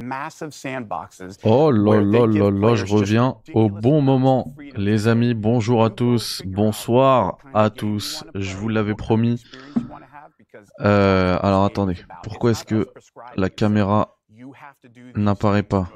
Oh là là là là, je reviens au bon moment. Les amis, bonjour à tous, bonsoir à tous. Je vous l'avais promis. Alors attendez, pourquoi est-ce que la caméra n'apparaît pas?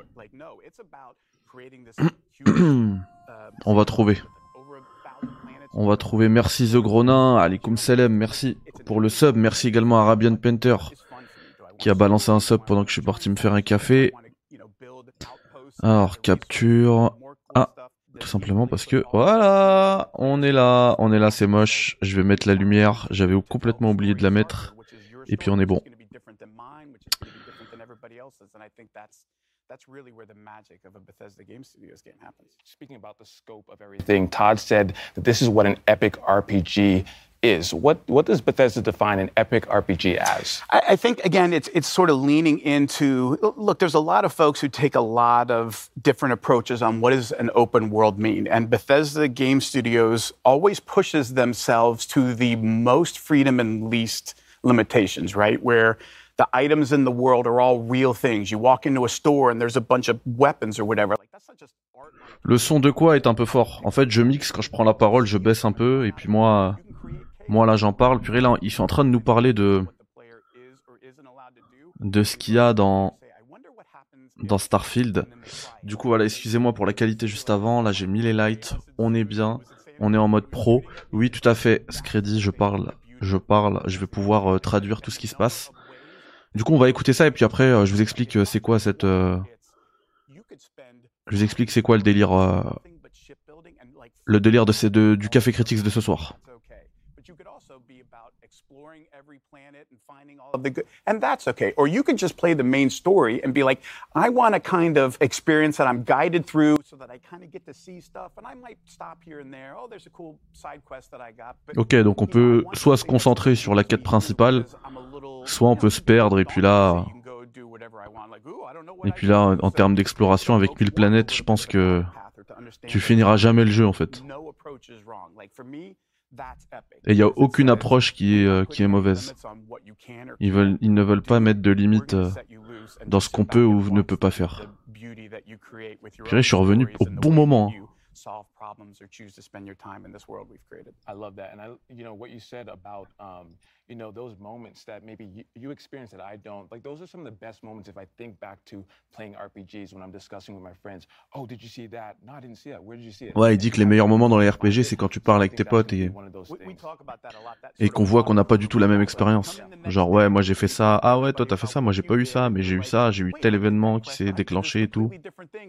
On va trouver. On va trouver. Merci The Gronin, Alikoum Selem, merci pour le sub. Merci également à Arabian Painter qui a balancé un sub pendant que je suis parti me faire un café. Alors, capture. Ah, tout simplement parce que voilà, on est là, c'est moche. Je vais mettre la lumière, j'avais complètement oublié de la mettre. Et puis on est bon. That's really where the magic of a Bethesda Game Studios game happens. Speaking about the scope of everything, Todd said that this is what an epic RPG is. What does Bethesda define an epic RPG as? I think, again, it's sort of leaning into, look, there's a lot of folks who take a lot of different approaches on what does an open world mean. And Bethesda Game Studios always pushes themselves to the most freedom and least limitations, right? Where the items in the world are all real things. You walk into a store and there's a bunch of weapons or whatever. Like, that's not just art. Le son de quoi est un peu fort. En fait, je mixe quand je prends la parole, je baisse un peu et puis moi là j'en parle. Puis là, ils sont en train de nous parler de ce qu'il y a dans Starfield. Du coup, voilà, excusez-moi pour la qualité juste avant. Là, j'ai mis les lights. On est bien. On est en mode pro. Oui, tout à fait. Scredy, je parle. Je vais pouvoir traduire tout ce qui se passe. Du coup, on va écouter ça et puis après, je vous explique c'est quoi cette. Je vous explique c'est quoi le délire du Café Critics de ce soir. And that's okay. Or you could just play the main story and be like, I want a kind of experience that I'm guided through so that I kind of get to see stuff and I might stop here and there. Oh, there's a cool side quest that I got. Ok, donc on peut soit se concentrer sur la quête principale, soit on peut se perdre et puis là, en termes d'exploration avec 1000 planètes, je pense que tu finiras jamais le jeu en fait. Et il n'y a aucune approche qui est mauvaise. Ils ne veulent pas mettre de limite dans ce qu'on peut ou ne peut pas faire. Puis je suis revenu au bon moment. Solve problems or choose to spend your time in this world we've created. I love that. And what you said about, those moments that maybe you experience that I don't, like those are some of the best moments if I think back to playing RPGs when I'm discussing with my friends. Oh, did you see that? No, I didn't see that. Where did you see it? Ouais, il dit que les meilleurs moments dans les RPG, c'est quand tu parles avec tes potes et qu'on voit qu'on n'a pas du tout la même expérience. Genre, ouais, moi j'ai fait ça. Ah ouais, toi t'as fait ça. Moi j'ai pas eu ça, mais j'ai eu ça. J'ai eu tel événement qui s'est déclenché et tout.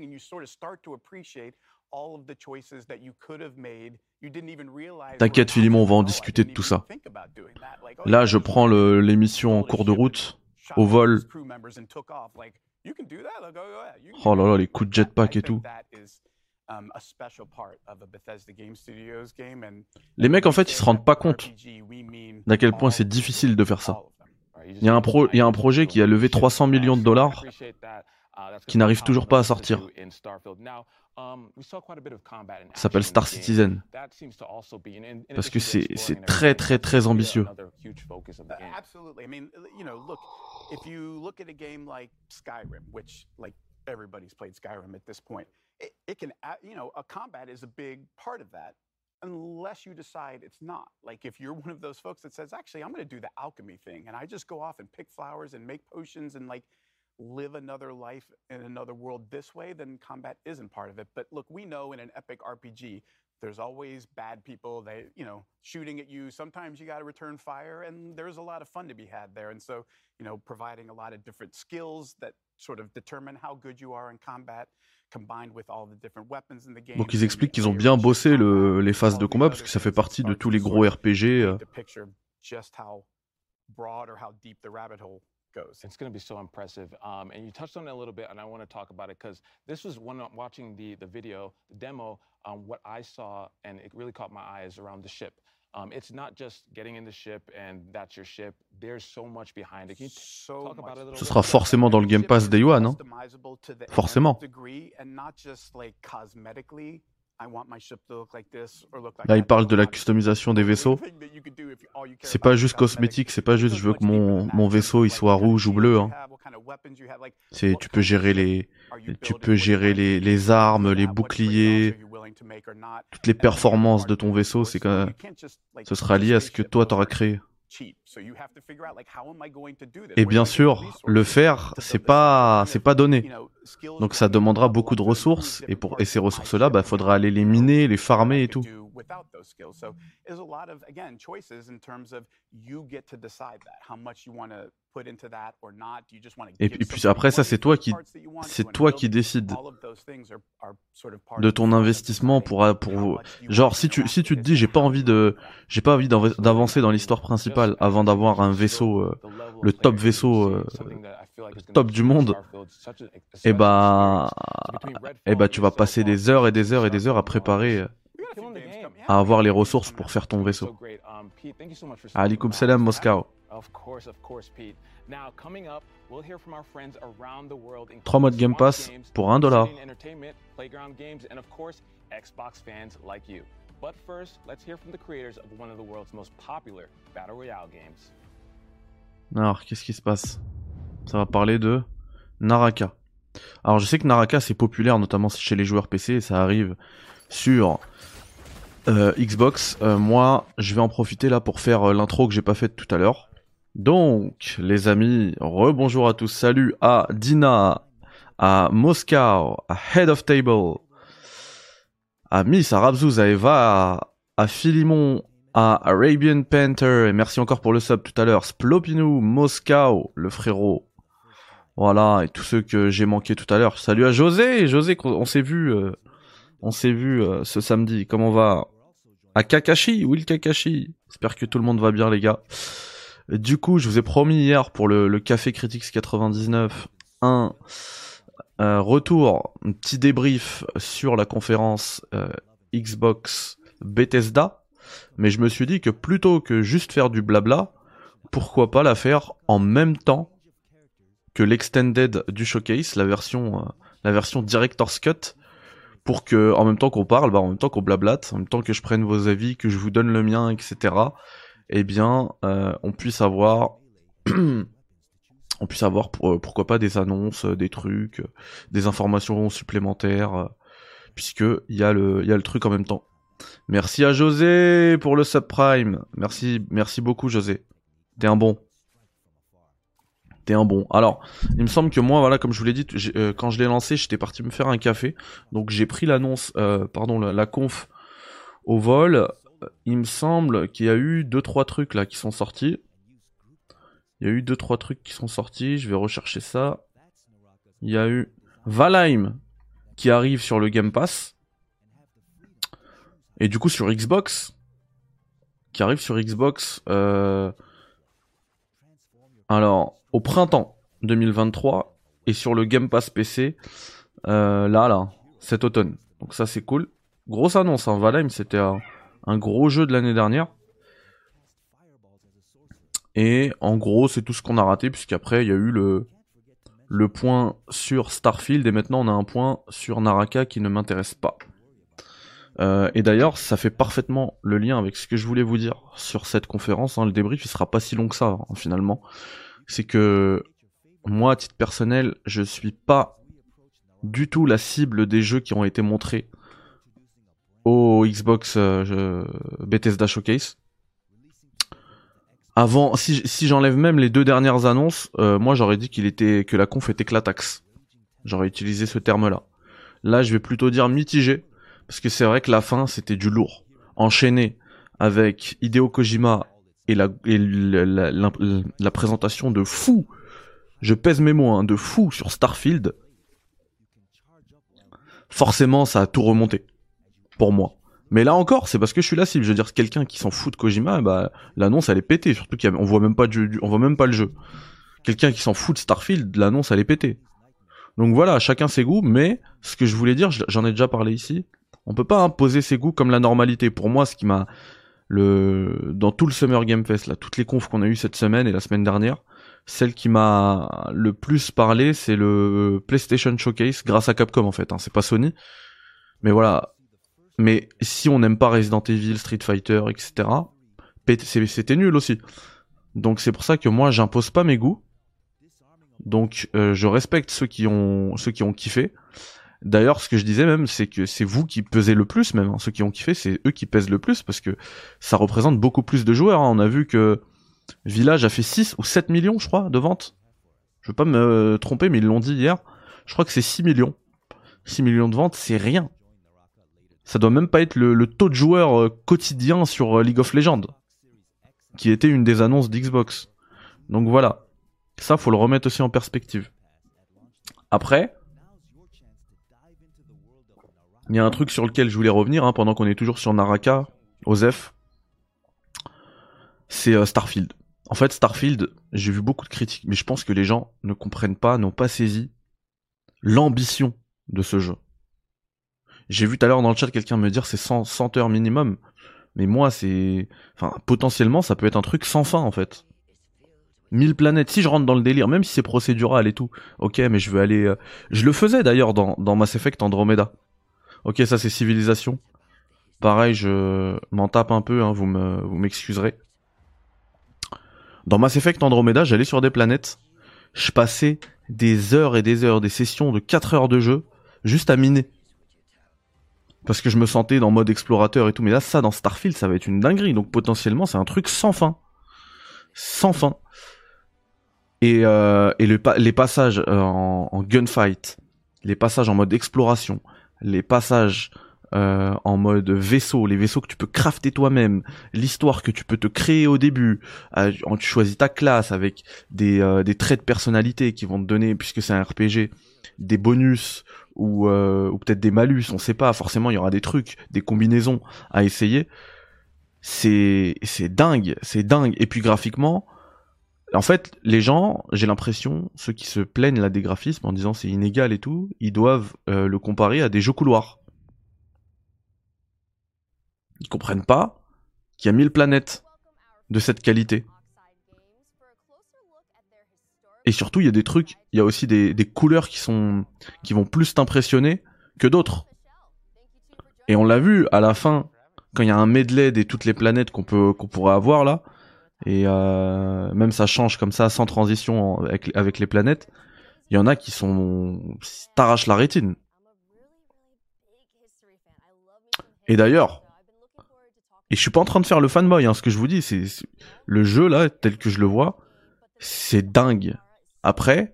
T'inquiète Philimon, on va en discuter de tout ça. Là, je prends l'émission en cours de route, au vol. Oh là là, les coups de jetpack et tout. Les mecs, en fait, ils se rendent pas compte d'à quel point c'est difficile de faire ça. Il y a un projet qui a levé 300 millions de dollars qui n'arrive toujours pas à sortir. Ça s'appelle Star Citizen. Parce que c'est très très très ambitieux. If you look at a game like Skyrim, which like everybody's played Skyrim at this point, it can, a combat is a big part of that, unless you decide it's not. Like if you're one of those folks that says, actually, I'm going to do the alchemy thing, and I just go off and pick flowers and make potions and like live another life in another world this way, then combat isn't part of it. But look, we know in an epic RPG, there's always bad people, shooting at you. Sometimes you got to return fire, and there's a lot of fun to be had there. And so, providing a lot of different skills that sort of determine how good you are in combat, combined with all the different weapons in the game. Donc ils expliquent qu'ils ont bien bossé les phases de combat, parce que ça fait partie de tous les gros RPG. Just how broad or how deep the rabbit hole goes. It's going to be so impressive. And you touched on it a little bit, and I want to talk about it because this was when I'm watching the video, the demo, what I saw, and it really caught my eye is around the ship. It's not just getting in the ship and that's your ship. There's so much behind it. Can you talk about it a little bit? Ce sera forcément dans le Game Pass Day One, hein. Forcément. And not just like cosmetically Là, il parle de la customisation des vaisseaux. C'est pas juste cosmétique, c'est pas juste je veux que mon vaisseau il soit rouge ou bleu. Hein. C'est tu peux gérer les armes, les boucliers, toutes les performances de ton vaisseau. C'est quand ce sera lié à ce que toi t'auras créé. Et bien sûr, le faire, c'est pas donné. Donc ça demandera beaucoup de ressources et ces ressources-là, bah faudra aller les miner, les farmer et tout. Et puis après ça, c'est toi qui décides de ton investissement pour genre si tu te dis j'ai pas envie d'avancer dans l'histoire principale avant d'avoir un vaisseau le top vaisseau top du monde, et bah tu vas passer des heures et des heures et des heures à préparer à avoir les ressources pour faire ton vaisseau. Alaikum salam Moscow. 3 mois de Game Pass pour $1. But first, let's hear from the creators of one of the world's most popular Battle Royale games. Alors, qu'est-ce qui se passe? Ça va parler de Naraka. Alors, je sais que Naraka, c'est populaire, notamment chez les joueurs PC, et ça arrive sur Xbox. Moi, je vais en profiter là pour faire l'intro que j'ai pas faite tout à l'heure. Donc, les amis, rebonjour à tous. Salut à Dina, à Moscow, à Head of Table, à Miss, à Rabzouz, à Eva, à Philimon, à Arabian Panther, et merci encore pour le sub tout à l'heure, Splopinou, Moscow, le frérot. Voilà, et tous ceux que j'ai manqué tout à l'heure. Salut à José, on s'est vu ce samedi. Comment va? À Kakashi, Will Kakashi. J'espère que tout le monde va bien, les gars. Du coup, je vous ai promis hier pour le Café Critics 99 un retour, un petit débrief sur la conférence Xbox Bethesda, mais je me suis dit que plutôt que juste faire du blabla, pourquoi pas la faire en même temps que l'extended du showcase, la version Director's Cut, pour que en même temps qu'on parle, en même temps qu'on blablate, en même temps que je prenne vos avis, que je vous donne le mien, etc. Eh bien, on puisse avoir pourquoi pas des annonces, des trucs, des informations supplémentaires, puisque il y a le truc en même temps. Merci à José pour le subprime. Merci beaucoup José. T'es un bon. Alors, il me semble que moi, voilà, comme je vous l'ai dit, quand je l'ai lancé, j'étais parti me faire un café. Donc j'ai pris l'annonce, la conf au vol. Il me semble qu'il y a eu 2-3 trucs là qui sont sortis. Je vais rechercher ça. Il y a eu Valheim qui arrive sur le Game Pass. Et du coup sur Xbox. Alors, au printemps 2023. Et sur le Game Pass PC. Cet automne. Donc ça c'est cool. Grosse annonce, hein. Valheim c'était un gros jeu de l'année dernière. Et en gros, c'est tout ce qu'on a raté, puisqu'après, il y a eu le point sur Starfield, et maintenant on a un point sur Naraka qui ne m'intéresse pas. Et d'ailleurs, ça fait parfaitement le lien avec ce que je voulais vous dire sur cette conférence. Hein. Le débrief, il sera pas si long que ça, hein, finalement. C'est que, moi, à titre personnel, je suis pas du tout la cible des jeux qui ont été montrés au Xbox Bethesda Showcase. Avant, si j'enlève même les 2 dernières annonces, moi j'aurais dit que la conf était clatax. J'aurais utilisé ce terme-là. Là, je vais plutôt dire mitigé, parce que c'est vrai que la fin c'était du lourd. Enchaîné avec Hideo Kojima et la présentation de fou, je pèse mes mots, hein, de fou sur Starfield. Forcément, ça a tout remonté pour moi. Mais là encore, c'est parce que je suis la cible. Je veux dire, quelqu'un qui s'en fout de Kojima, l'annonce elle est pétée. Surtout on voit même pas le jeu. Quelqu'un qui s'en fout de Starfield, l'annonce elle est pétée. Donc voilà, chacun ses goûts. Mais ce que je voulais dire, j'en ai déjà parlé ici. On peut pas imposer ses goûts comme la normalité. Pour moi, ce qui m'a dans tout le Summer Game Fest, là, toutes les confs qu'on a eu cette semaine et la semaine dernière, celle qui m'a le plus parlé, c'est le PlayStation Showcase, grâce à Capcom en fait. Hein, c'est pas Sony. Mais voilà. Mais si on n'aime pas Resident Evil, Street Fighter, etc., c'était nul aussi. Donc c'est pour ça que moi j'impose pas mes goûts. Donc je respecte ceux qui ont kiffé. D'ailleurs, ce que je disais même, c'est que c'est vous qui pesez le plus même. Ceux qui ont kiffé, c'est eux qui pèsent le plus parce que ça représente beaucoup plus de joueurs. On a vu que Village a fait 6 ou 7 millions, je crois, de ventes. Je veux pas me tromper, mais ils l'ont dit hier. Je crois que c'est 6 millions. 6 millions de ventes, c'est rien. Ça doit même pas être le taux de joueurs quotidien sur League of Legends, qui était une des annonces d'Xbox. Donc voilà. Ça, faut le remettre aussi en perspective. Après, il y a un truc sur lequel je voulais revenir, pendant qu'on est toujours sur Naraka, Osef. C'est Starfield. En fait, Starfield, j'ai vu beaucoup de critiques, mais je pense que les gens ne comprennent pas, n'ont pas saisi l'ambition de ce jeu. J'ai vu tout à l'heure dans le chat quelqu'un me dire c'est 100 heures minimum, mais moi potentiellement ça peut être un truc sans fin en fait. 1000 planètes, si je rentre dans le délire, même si c'est procédural et tout, ok, mais je veux aller... Je le faisais d'ailleurs dans Mass Effect Andromeda. Ok, ça c'est civilisation. Pareil, je m'en tape un peu, vous m'excuserez. Dans Mass Effect Andromeda, j'allais sur des planètes, je passais des heures et des heures, des sessions de 4 heures de jeu, juste à miner. Parce que je me sentais dans mode explorateur et tout, mais là, ça, dans Starfield, ça va être une dinguerie, donc potentiellement, c'est un truc sans fin. Sans fin. Et les passages en gunfight, les passages en mode exploration, les passages en mode vaisseau, les vaisseaux que tu peux crafter toi-même, l'histoire que tu peux te créer au début, tu choisis ta classe avec des traits de personnalité qui vont te donner, puisque c'est un RPG, des bonus ou peut-être des malus, on sait pas, forcément il y aura des trucs, des combinaisons à essayer. C'est dingue, c'est dingue. Et puis graphiquement, en fait, les gens, j'ai l'impression, ceux qui se plaignent là des graphismes en disant c'est inégal et tout, ils doivent le comparer à des jeux couloirs. Ils comprennent pas qu'il y a 1000 planètes de cette qualité. Et surtout, il y a des trucs, il y a aussi des couleurs qui vont plus t'impressionner que d'autres. Et on l'a vu à la fin, quand il y a un medley de toutes les planètes qu'on pourrait avoir là, et même ça change comme ça sans transition avec les planètes, il y en a qui t'arrachent la rétine. Et d'ailleurs, et je suis pas en train de faire le fanboy, ce que je vous dis, c'est le jeu là, tel que je le vois, c'est dingue. Après,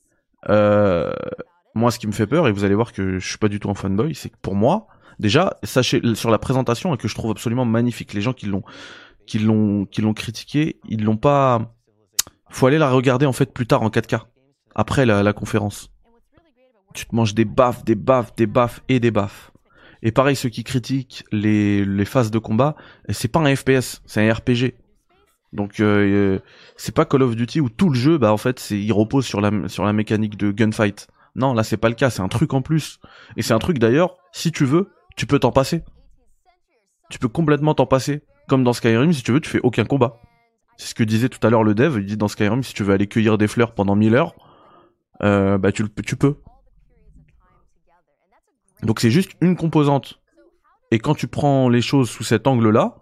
moi ce qui me fait peur, et vous allez voir que je suis pas du tout un fanboy, c'est que pour moi, déjà, sachez sur la présentation, que je trouve absolument magnifique, les gens qui l'ont critiqué, ils l'ont pas... Faut aller la regarder en fait plus tard en 4K, après la conférence. Tu te manges des baffes, des baffes, des baffes et des baffes. Et pareil, ceux qui critiquent les phases de combat, c'est pas un FPS, c'est un RPG. Donc c'est pas Call of Duty où tout le jeu, en fait, il repose sur la mécanique de gunfight. Non, là c'est pas le cas, c'est un truc en plus. Et c'est un truc d'ailleurs, si tu veux, tu peux t'en passer. Tu peux complètement t'en passer. Comme dans Skyrim, si tu veux, tu fais aucun combat. C'est ce que disait tout à l'heure le dev, il dit dans Skyrim, si tu veux aller cueillir des fleurs pendant 1000 heures, tu peux. Donc c'est juste une composante. Et quand tu prends les choses sous cet angle-là,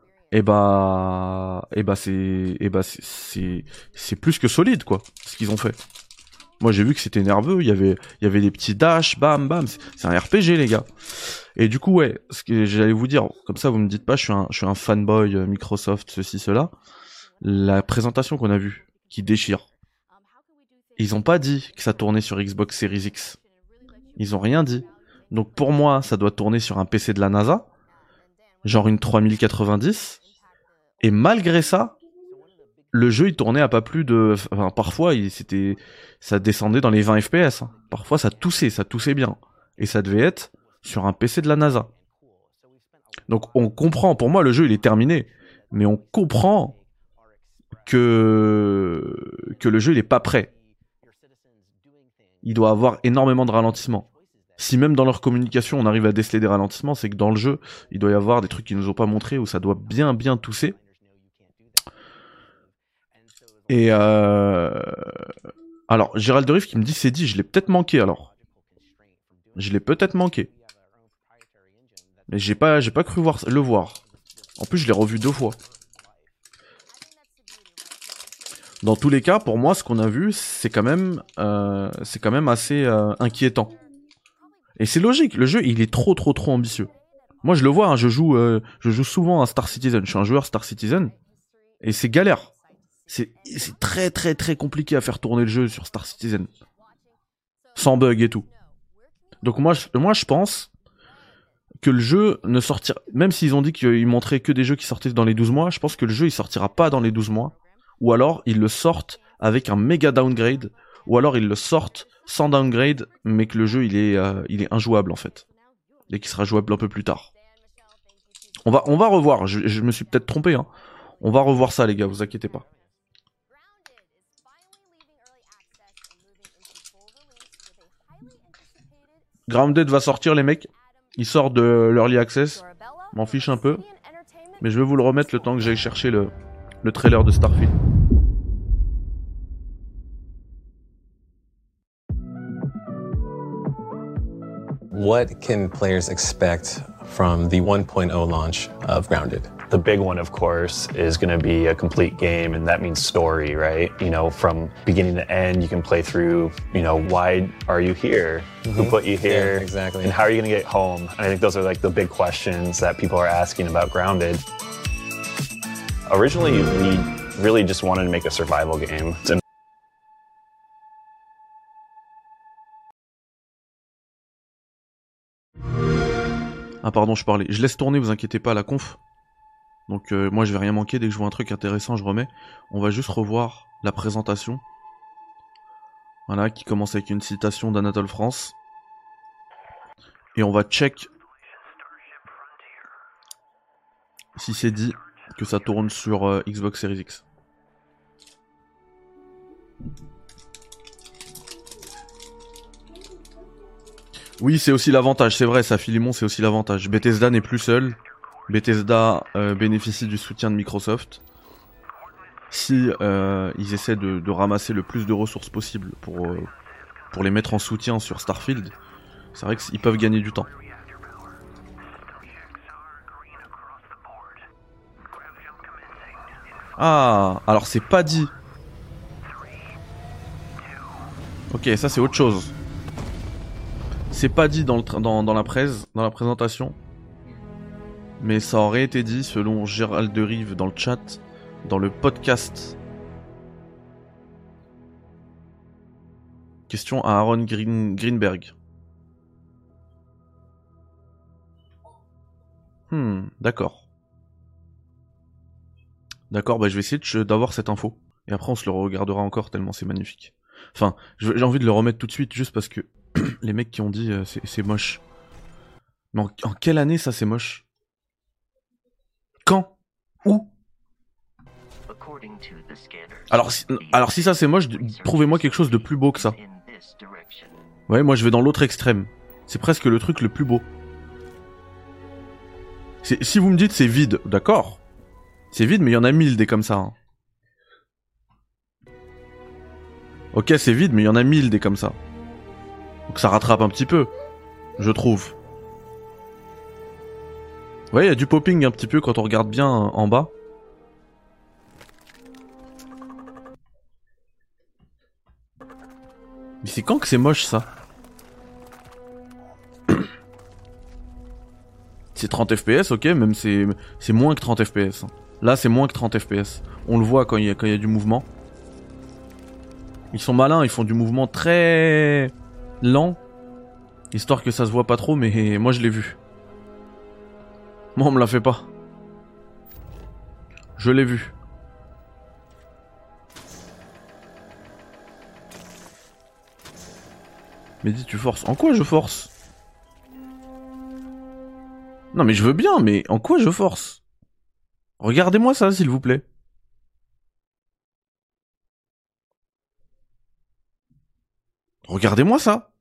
c'est plus que solide, quoi, ce qu'ils ont fait. Moi j'ai vu que c'était nerveux, il y avait des petits dash, bam bam, c'est un RPG les gars. Et du coup ouais, ce que j'allais vous dire, comme ça vous me dites pas je suis un fanboy Microsoft ceci cela. La présentation qu'on a vue qui déchire. Ils ont pas dit que ça tournait sur Xbox Series X. Ils ont rien dit. Donc pour moi, ça doit tourner sur un PC de la NASA, genre une 3090. Et malgré ça, le jeu il tournait à pas plus de... Enfin, parfois ça descendait dans les 20 FPS. Parfois ça toussait bien. Et ça devait être sur un PC de la NASA. Donc on comprend, pour moi le jeu il est terminé. Mais on comprend que le jeu il est pas prêt. Il doit avoir énormément de ralentissements. Si même dans leur communication on arrive à déceler des ralentissements, c'est que dans le jeu, il doit y avoir des trucs qu'ils nous ont pas montrés où ça doit bien tousser. Et alors, Gérald de Riff qui me dit c'est dit, je l'ai peut-être manqué alors. Je l'ai peut-être manqué. Mais j'ai pas cru le voir. En plus, je l'ai revu 2 fois. Dans tous les cas, pour moi, ce qu'on a vu, c'est quand même assez inquiétant. Et c'est logique, le jeu, il est trop ambitieux. Moi, je le vois, hein, je joue souvent à Star Citizen. Je suis un joueur Star Citizen. Et c'est galère. C'est très compliqué à faire tourner le jeu sur Star Citizen. Sans bug et tout. Donc moi, je pense que le jeu ne sortira... Même s'ils ont dit qu'ils montraient que des jeux qui sortaient dans les 12 mois, je pense que le jeu, il sortira pas dans les 12 mois. Ou alors, ils le sortent avec un méga downgrade. Ou alors, ils le sortent sans downgrade, mais que le jeu, il est injouable, en fait. Et qui sera jouable un peu plus tard. On va revoir, je me suis peut-être trompé, hein. On va revoir ça, les gars, vous inquiétez pas. Grounded va sortir, les mecs. Il sort de l'Early Access. M'en fiche un peu. Mais je vais vous le remettre le temps que j'aille chercher le trailer de Starfield. What can players expect from the 1.0 launch of Grounded? The big one, of course, is going to be a complete game, and that means story, right? You know, from beginning to end, you can play through, you know, why are you here? Who put you here? Yeah, exactly. And how are you going to get home? And I think those are like the big questions that people are asking about Grounded. Originally, we really just wanted to make a survival game. Ah pardon, je parlais. Je laisse tourner, vous inquiétez pas, la conf. Donc moi je vais rien manquer, dès que je vois un truc intéressant je remets. On va juste revoir la présentation. Voilà, qui commence avec une citation d'Anatole France. Et on va check si c'est dit que ça tourne sur Xbox Series X. Oui, c'est aussi l'avantage, c'est vrai, ça Philemon, c'est aussi l'avantage. Bethesda n'est plus seul. Bethesda bénéficie du soutien de Microsoft. Si ils essaient de ramasser le plus de ressources possible pour les mettre en soutien sur Starfield, c'est vrai qu'ils peuvent gagner du temps. Ah, alors c'est pas dit. Ok, ça c'est autre chose. C'est pas dit dans la présentation. Mais ça aurait été dit selon Gérald de Rive dans le chat, dans le podcast. Question à Aaron Greenberg. D'accord. D'accord, bah je vais essayer d'avoir cette info. Et après on se le regardera encore tellement c'est magnifique. Enfin, j'ai envie de le remettre tout de suite juste parce que les mecs qui ont dit c'est moche. Mais en quelle année ça c'est moche? Quand? Où? Alors si ça c'est moche, trouvez-moi quelque chose de plus beau que ça. Ouais, moi je vais dans l'autre extrême. C'est presque le truc le plus beau. Si vous me dites c'est vide, d'accord. C'est vide mais il y en a 1000 des comme ça. Hein. Ok, c'est vide mais il y en a 1000 des comme ça. Donc ça rattrape un petit peu, je trouve. Ouais, il y a du popping un petit peu quand on regarde bien en bas. Mais c'est quand que c'est moche ça? C'est 30 FPS, ok, même c'est moins que 30 FPS. Là c'est moins que 30 FPS. On le voit quand il y a du mouvement. Ils sont malins, ils font du mouvement très lent. Histoire que ça se voit pas trop, mais moi je l'ai vu. Moi on me l'a fait pas. Je l'ai vu. Mais dis tu forces. En quoi je force? Non mais je veux bien, mais en quoi je force? Regardez-moi ça s'il vous plaît. Regardez-moi ça.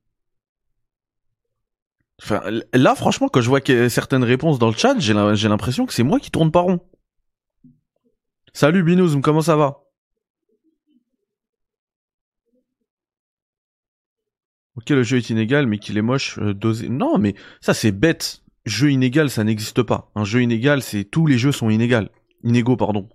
Enfin, là, franchement, quand je vois certaines réponses dans le chat, j'ai l'impression que c'est moi qui tourne pas rond. Salut Binouzm, comment ça va? Ok, le jeu est inégal, mais qu'il est moche, dosé. Non, mais ça c'est bête. jeu inégal, ça n'existe pas. Un jeu inégal, c'est tous les jeux sont inégaux, pardon.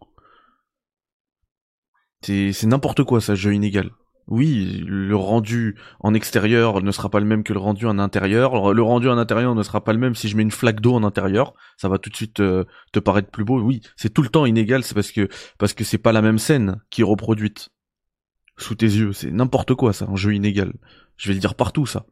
C'est n'importe quoi, ça, jeu inégal. Oui, le rendu en extérieur ne sera pas le même que le rendu en intérieur. Le rendu en intérieur ne sera pas le même si je mets une flaque d'eau en intérieur. Ça va tout de suite te paraître plus beau. Oui, c'est tout le temps inégal, c'est parce que c'est pas la même scène qui est reproduite sous tes yeux. C'est n'importe quoi, ça, un jeu inégal. Je vais le dire partout, ça.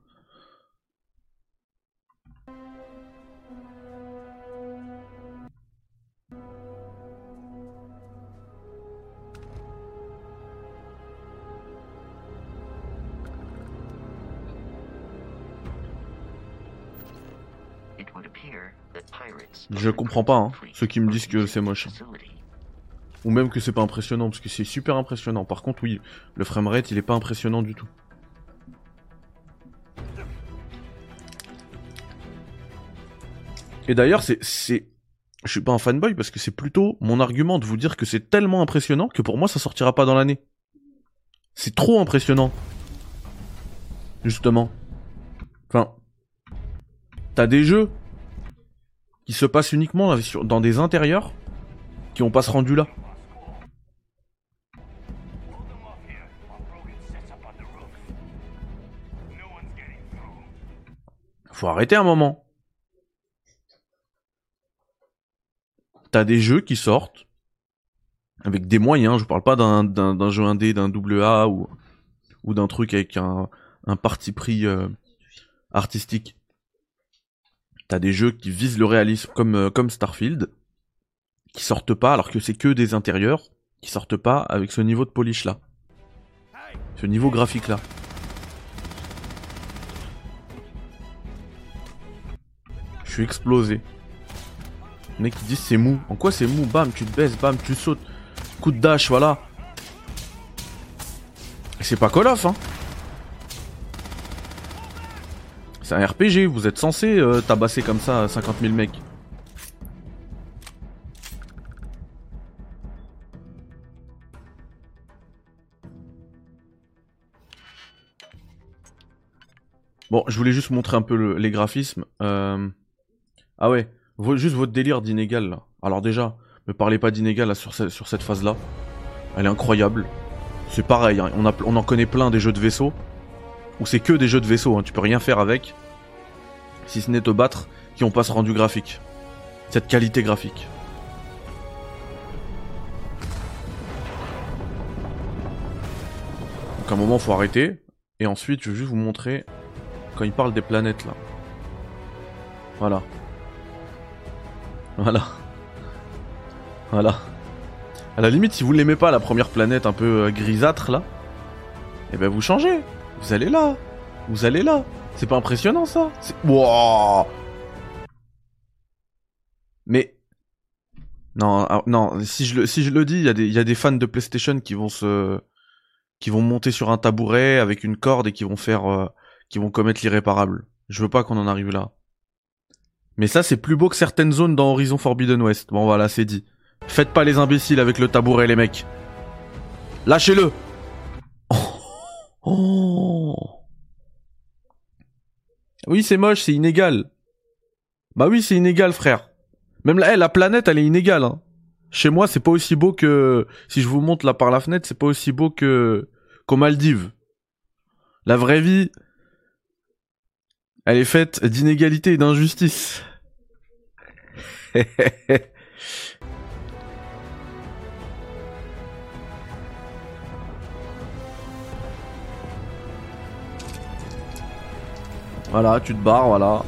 Je comprends pas, hein, ceux qui me disent que c'est moche. Ou même que c'est pas impressionnant, parce que c'est super impressionnant. Par contre, oui, le framerate, il est pas impressionnant du tout. Et d'ailleurs, je suis pas un fanboy, parce que c'est plutôt mon argument de vous dire que c'est tellement impressionnant que pour moi, ça sortira pas dans l'année. C'est trop impressionnant. Justement. Enfin, t'as des jeux qui se passent uniquement dans des intérieurs qui ont pas ce rendu là. Faut arrêter un moment. T'as des jeux qui sortent avec des moyens, je parle pas d'un jeu indé, d'un AA ou d'un truc avec un parti pris artistique. T'as des jeux qui visent le réalisme comme Starfield, qui sortent pas, alors que c'est que des intérieurs, qui sortent pas avec ce niveau de polish là. Ce niveau graphique là. Je suis explosé. Les mecs qui disent c'est mou. En quoi c'est mou? Bam, tu te baisses, bam, tu sautes. Coup de dash, voilà. Et c'est pas Call of, hein. C'est un RPG, vous êtes censé tabasser comme ça 50 000 mecs. Bon, je voulais juste montrer un peu les graphismes. Ah ouais, juste votre délire d'inégal là. Alors déjà, me parlez pas d'inégal là, sur cette phase là. Elle est incroyable. C'est pareil, hein. On en connaît plein des jeux de vaisseau. Où c'est que des jeux de vaisseau, hein. Tu peux rien faire avec. Si ce n'est te battre, qui ont pas ce rendu graphique. Cette qualité graphique. Donc à un moment faut arrêter. Et ensuite je vais juste vous montrer quand il parle des planètes là. Voilà. Voilà. Voilà. À la limite, si vous l'aimez pas, la première planète un peu grisâtre là, eh ben vous changez. Vous allez là. Vous allez là. C'est pas impressionnant ça? Wow. Mais non, non. Si je le dis, il y a des fans de PlayStation qui vont monter sur un tabouret avec une corde et qui vont commettre l'irréparable. Je veux pas qu'on en arrive là. Mais ça, c'est plus beau que certaines zones dans Horizon Forbidden West. Bon, voilà, c'est dit. Faites pas les imbéciles avec le tabouret, les mecs. Lâchez-le. Oh. Oui, c'est moche, c'est inégal. Bah oui, c'est inégal, frère. Même la planète, elle est inégale. Hein. Chez moi, c'est pas aussi beau que... Si je vous montre là par la fenêtre, c'est pas aussi beau qu'aux Maldives. La vraie vie... Elle est faite d'inégalité et d'injustice. Voilà, tu te barres, voilà.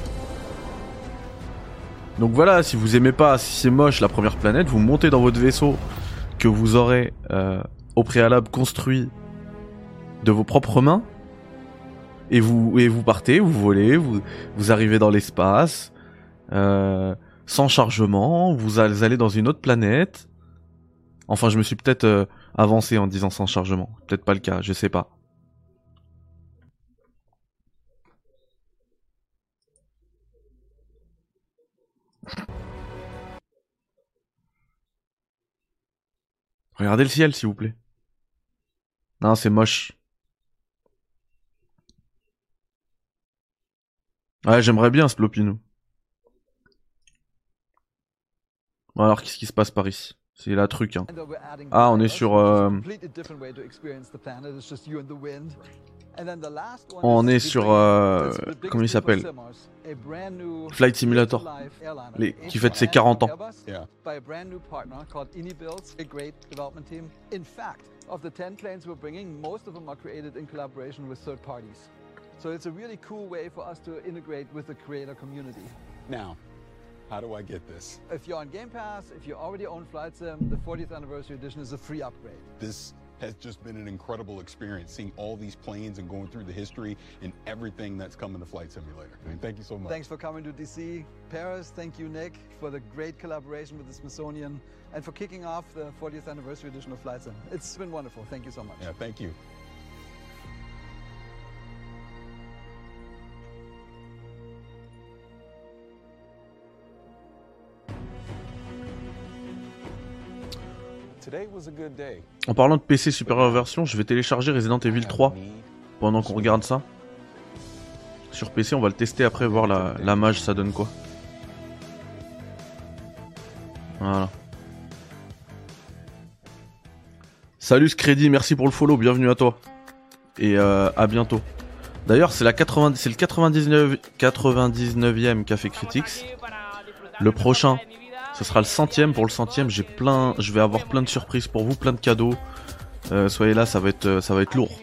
Donc voilà, si vous aimez pas, si c'est moche la première planète, vous montez dans votre vaisseau que vous aurez au préalable construit de vos propres mains. Et vous partez, vous volez, vous arrivez dans l'espace, sans chargement, vous allez dans une autre planète. Enfin, je me suis peut-être avancé en disant sans chargement. Peut-être pas le cas, je sais pas. Regardez le ciel, s'il vous plaît. Non, c'est moche. Ouais, j'aimerais bien Splopinou. Bon, alors qu'est-ce qui se passe par ici? C'est la truc, hein. Ah, on est sur... On est sur... comment il s'appelle? Flight Simulator. Qui fête ses 40 ans. Of the 10 planes we're bringing, most of them are created in collaboration with third parties. So it's a really cool way for us to integrate with the creator community. Now, how do I get this? If you're on Game Pass, if you already own Flight Sim, the 40th Anniversary Edition is a free upgrade. This has just been an incredible experience, seeing all these planes and going through the history and everything that's come in the Flight Simulator. I mean, thank you so much. Thanks for coming to DC. Paris, thank you, Nick, for the great collaboration with the Smithsonian and for kicking off the 40th Anniversary Edition of Flight Sim. It's been wonderful. Thank you so much. Yeah, thank you. Today was a good day. En parlant de PC supérieure version, je vais télécharger Resident Evil 3 pendant qu'on regarde ça. Sur PC, on va le tester après, voir la mage, ça donne quoi. Voilà. Salut Scredy, merci pour le follow, bienvenue à toi. Et à bientôt. D'ailleurs, c'est le 99e Café Critics. Le prochain, ce sera le 100e. Pour le 100e, je vais avoir plein de surprises pour vous, plein de cadeaux. Soyez là, ça va être lourd.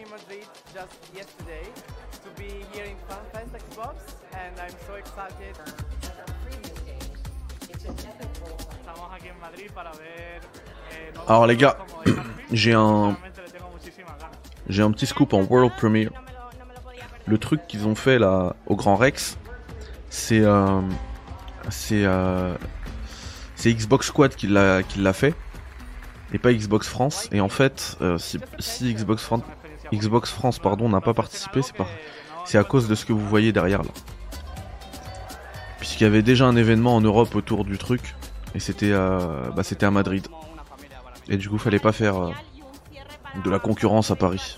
Alors les gars, j'ai un petit scoop en World Premiere. Le truc qu'ils ont fait là au Grand Rex, c'est Xbox Squad qui l'a fait et pas Xbox France. Et en fait, si Xbox France pardon n'a pas participé, c'est à cause de ce que vous voyez derrière là. Puisqu'il y avait déjà un événement en Europe autour du truc et c'était à Madrid. Et du coup, fallait pas faire de la concurrence à Paris.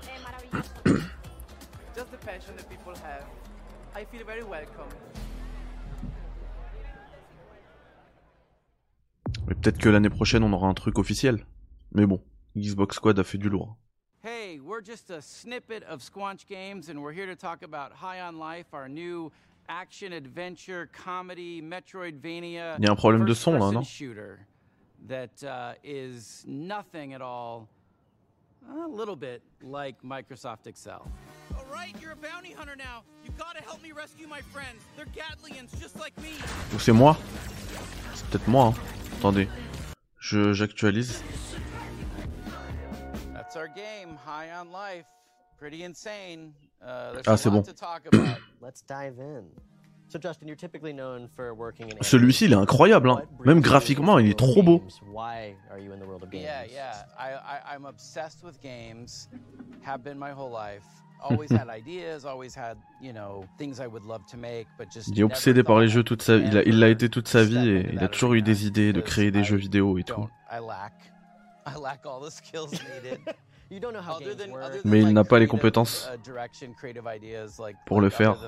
Mais peut-être que l'année prochaine, on aura un truc officiel. Mais bon, Xbox Squad a fait du lourd. Hey, we're just a snippet of Squanch Games, and we're here to talk about High on Life, our new action adventure comedy Metroidvania. Il y a un problème de son là, non? That is nothing at all, a little bit like Microsoft Excel. All right, you're a bounty hunter now. You gotta help me rescue my friends. They're Gatlians just like me. Ou c'est moi? C'est peut-être moi, hein. Attendez, j'actualise. That's our game, High on Life. Pretty insane. Ah, c'est bon. Let's dive in. So Justin, you're typically known for working in Celui-ci, il est incroyable, hein. Même graphiquement, il est trop beau. Why are you in the world of games? Yeah. I'm obsessed with games. Have been my whole life. Always had ideas, always had, things I would love to make, but just. Il est obsédé par les jeux toute sa vie. Il l'a été toute sa vie et il a toujours eu des idées de créer des jeux vidéo et tout. I lack all the skills needed. Mais il n'a pas les compétences pour le faire.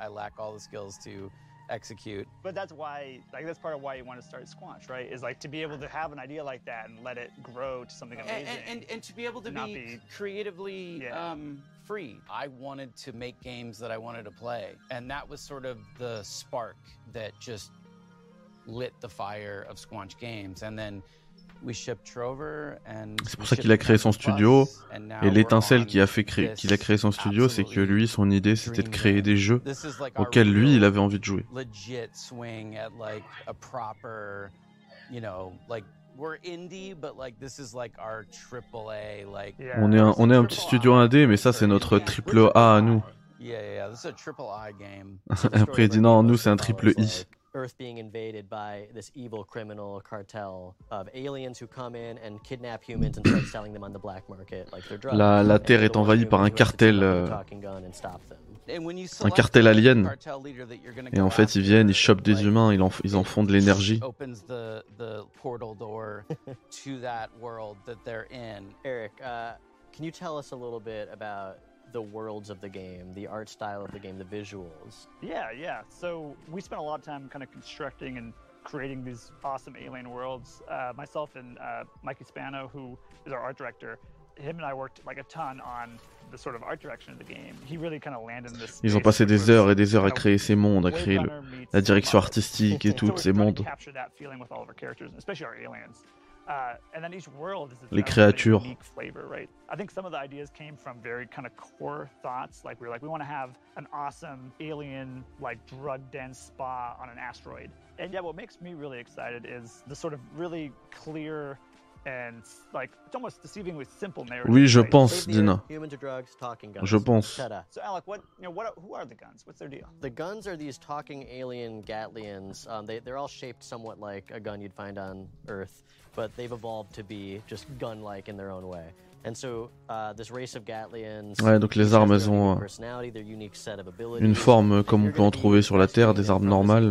Execute. But that's why, that's part of why you want to start Squanch, right? Is to be able to have an idea like that and let it grow to something amazing. And to be able to be creatively free. I wanted to make games that I wanted to play, and that was sort of the spark that just lit the fire of Squanch Games. And then c'est pour ça qu'il a créé son studio, et l'étincelle qu'il a créé son studio, c'est que lui, son idée, c'était de créer des jeux auxquels lui, il avait envie de jouer. On est un petit studio indé, mais ça, c'est notre triple A à nous. Après, il dit non, nous, c'est un triple I. Earth being invaded by this evil criminal cartel of aliens who come in and kidnap humans and start selling them on the black market like their drugs. La Terre est envahie par un cartel alien. Et en fait, ils viennent, ils chopent des humains, ils en font de l'énergie. Eric, can you tell us a little bit about the worlds of the game, the art style of the game, the visuals? Yeah. So we spent a lot of time kind of constructing and creating these awesome alien worlds. Myself and Mikey Spano, who is our art director, him and I worked like a ton on the sort of art direction of the game. He really kind of landed in this. Ils ont passé des heures et des heures à créer ces mondes, à créer la direction artistique et tout, ces mondes. Les créatures. I think some of the ideas came from very kind of core thoughts. Like we want to have an awesome alien, like drug-dense spa on an asteroid. And yeah, what makes me really excited is the sort of really clear and like it's almost deceivingly simple narrative. Oui, je pense, Dina. Humans or drugs, talking guns. Je pense. So Alec, who are the guns? What's their deal? The guns are these talking alien Gatlians. They're all shaped somewhat like a gun you'd find on Earth, but they've evolved to be just gun-like in their own way. And so this race of Gatlians. Ouais, donc les armes, elles ont une forme comme on peut en trouver sur la Terre, des armes normales.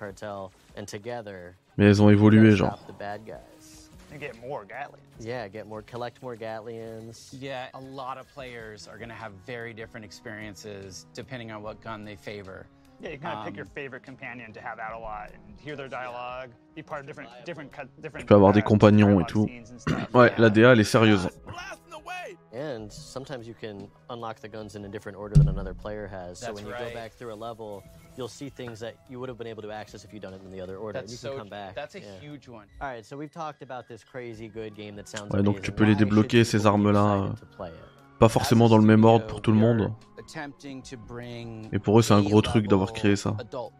Mais elles ont évolué, genre. And get more Gatlians. Yeah, collect more Gatlians. Yeah, a lot of players are going to have very different experiences depending on what gun they favor. Yeah, you kind of pick your favorite companion to have out a lot and hear their dialogue, be part of different. Tu peux avoir des compagnons et tout. Ouais, la DA elle est sérieuse. And sometimes you can unlock the guns in a different order than another player has. So when you go back through a level, you'll see things that you would have been able to access if you'd done it in the other order. That's and you can come back. That's a huge one. All right, so we've talked about this crazy good game that sounds ouais, amazing. donc tu peux les débloquer ces armes-là. Pas forcément dans le même ordre pour tout le monde. Et pour eux, c'est un gros truc d'avoir créé ça.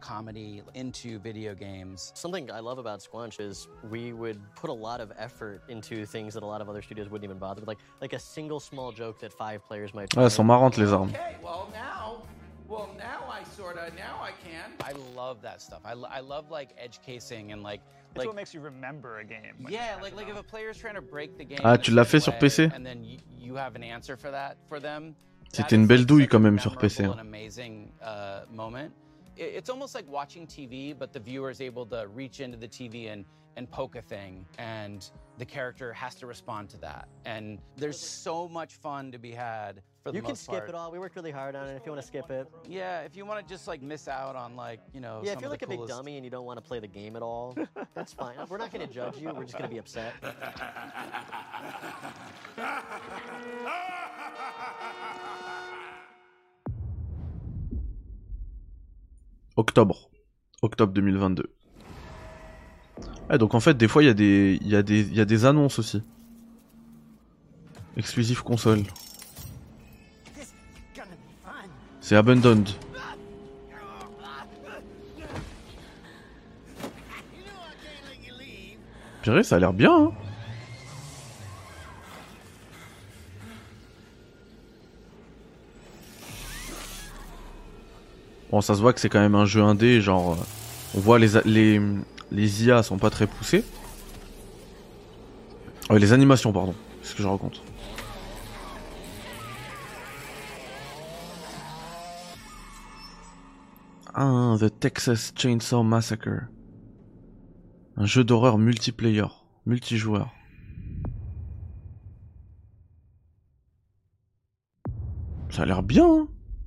Something I love about Squanch is we would put a lot of effort into things that a lot of other studios wouldn't even bother with, like a single small joke that 5 players might. Ah, elles sont marrantes les armes. Well, now I can. I love that stuff. I love like edge casing and like. It's what makes you remember a game. Yeah, like if a player's trying to break the game. Ah, tu l'as fait sur PC? And then you have an answer for that for them. C'était une belle douille quand même sur PC. An amazing moment. It's almost like watching TV, but the viewer is able to reach into the TV and poke a thing, and the character has to respond to that. And there's so much fun to be had. For the you can most skip part. It all. We worked really hard on it. If you want to skip it. Yeah, if you want to just like miss out on like, you know. Yeah, if you're like a big dummy and you don't want to play the game at all, that's fine. We're not going to judge you. We're just going to be upset. Octobre 2022. Ah, donc en fait des fois il y a des annonces aussi. Exclusive console. C'est Abandoned. Purée, ça a l'air bien, hein. Bon, ça se voit que c'est quand même un jeu indé, genre... on voit les IA sont pas très poussées. Les animations, pardon. C'est ce que je raconte. Ah, The Texas Chainsaw Massacre. Un jeu d'horreur multiplayer, multijoueur. Ça a l'air bien, hein.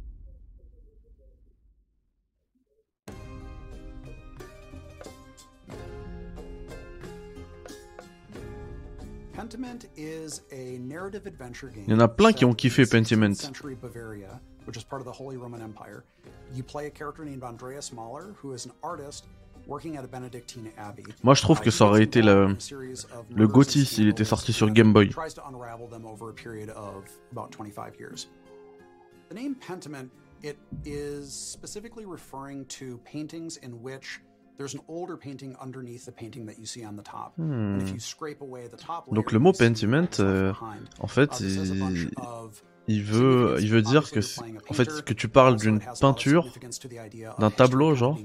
Il y en a plein qui ont kiffé Pentiment. Which is part of the Holy Roman Empire. You play a character named Andreas Mahler, who is an artist working at a Benedictine abbey. Moi, je trouve que ça aurait été le GOTY s'il était sorti sur Game Boy. Tries to unravel them over a period of about 25 years. The name Pentiment, it is specifically referring to paintings in which there's an older painting underneath the painting that you see on the top. And if you scrape away the top layer, donc le mot Pentiment, en fait, il veut dire que, en fait, que tu parles d'une peinture, d'un tableau, genre,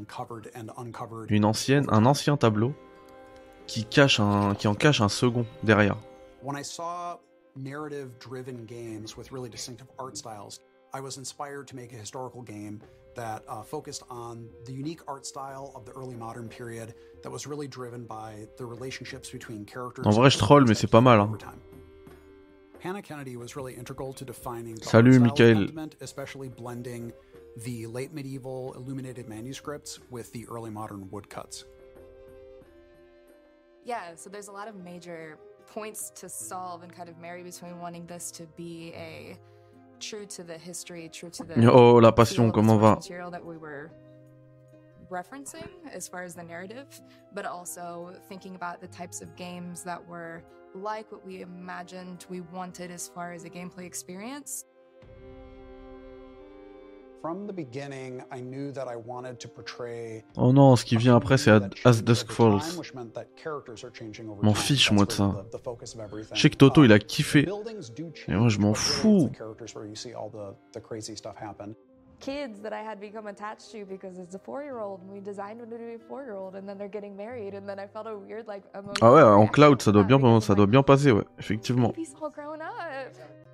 un ancien tableau, qui en cache un second derrière. When I saw narrative-driven games with really distinctive art styles, I was inspired to make a historical game that focused on the unique art style of the early modern period that was really driven by the relationships between characters. En vrai, je troll, mais c'est pas mal, hein. Hannah Kennedy was really integral to defining the Salut, Michael. especially blending the late medieval illuminated manuscripts with the early modern woodcuts. Yeah, so there's a lot of major points to solve and kind of marry between wanting this to be a true to the history, true to the Oh, la passion, comment va? material that we were referencing as far as the narrative, but also thinking about the types of games that were like what we imagined we wanted as far as a gameplay experience. From the beginning, I knew that I wanted to portray. Oh non, ce qui vient après c'est As Dusk Falls. M'en fiche moi de ça. Je sais que Toto il a kiffé. Et moi je m'en fous. Kids that I had become attached to because it's a 4-year-old and we designed them to be a 4-year-old and then they're getting married and then I felt a weird like emotion. Ah ouais, en cloud ça doit bien passer, ouais, effectivement. Baby's all grown up.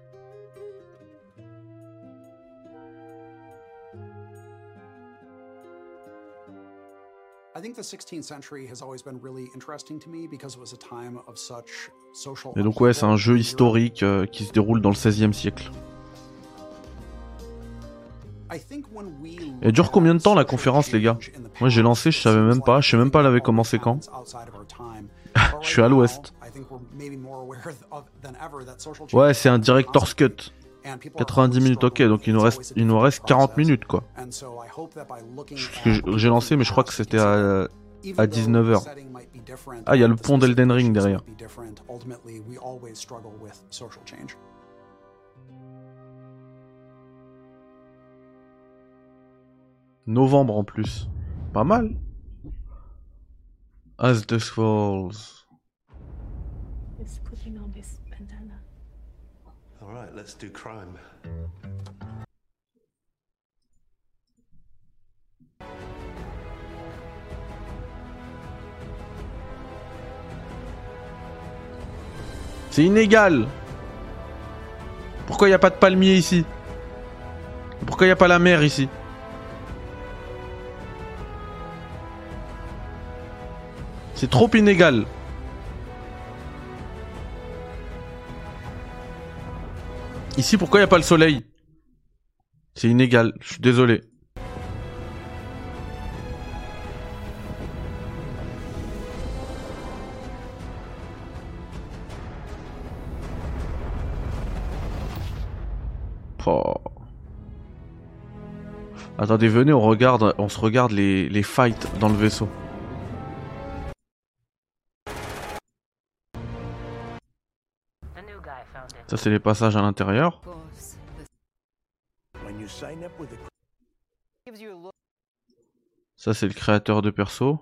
I think the 16th century has always been really interesting to me because it was a time of such social. Et donc ouais, c'est un jeu historique qui se déroule dans le 16e siècle. Elle dure combien de temps la conférence les gars? Moi j'ai lancé, je savais même pas, je sais même pas elle avait commencé quand. Je suis à l'ouest. Ouais, c'est un director's cut. 90 minutes, ok, donc il nous reste 40 minutes quoi. J'ai lancé mais je crois que c'était à 19h. Ah, il y a le pont d'Elden Ring derrière. Novembre en plus. Pas mal. As Dusk Falls. It's putting on this bandana. Alright, let's do crime. C'est inégal. Pourquoi y a pas de palmier ici? Pourquoi y a pas la mer ici? C'est trop inégal. Ici, pourquoi il n'y a pas le soleil? C'est inégal, je suis désolé. Oh. Attendez, venez, on se regarde les fights dans le vaisseau. Ça c'est les passages à l'intérieur. Ça c'est le créateur de perso.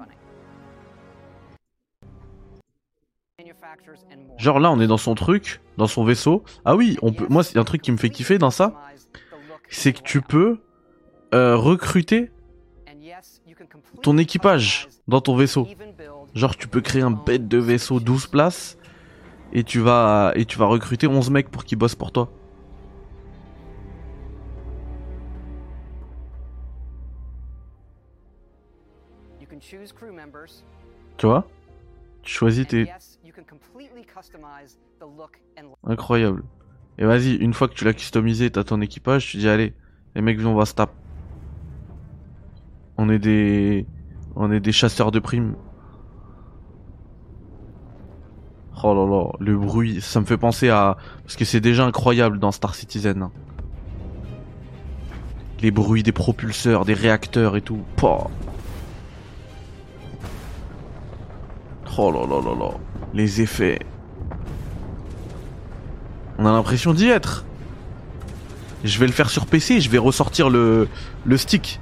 Genre là on est dans son truc, dans son vaisseau. Ah oui, on peut. Moi c'est un truc qui me fait kiffer dans ça, c'est que tu peux recruter ton équipage dans ton vaisseau. Genre tu peux créer un bête de vaisseau 12 places. Et tu vas recruter 11 mecs pour qu'ils bossent pour toi. Tu vois? Tu choisis tes... Incroyable. Et vas-y, une fois que tu l'as customisé, t'as ton équipage, tu dis allez, les mecs on va se taper. On est des chasseurs de primes. Oh là là, le bruit, ça me fait penser à... Parce que c'est déjà incroyable dans Star Citizen. Les bruits des propulseurs, des réacteurs et tout. Pouah. Oh là là là là. Les effets. On a l'impression d'y être. Je vais le faire sur PC, je vais ressortir le stick.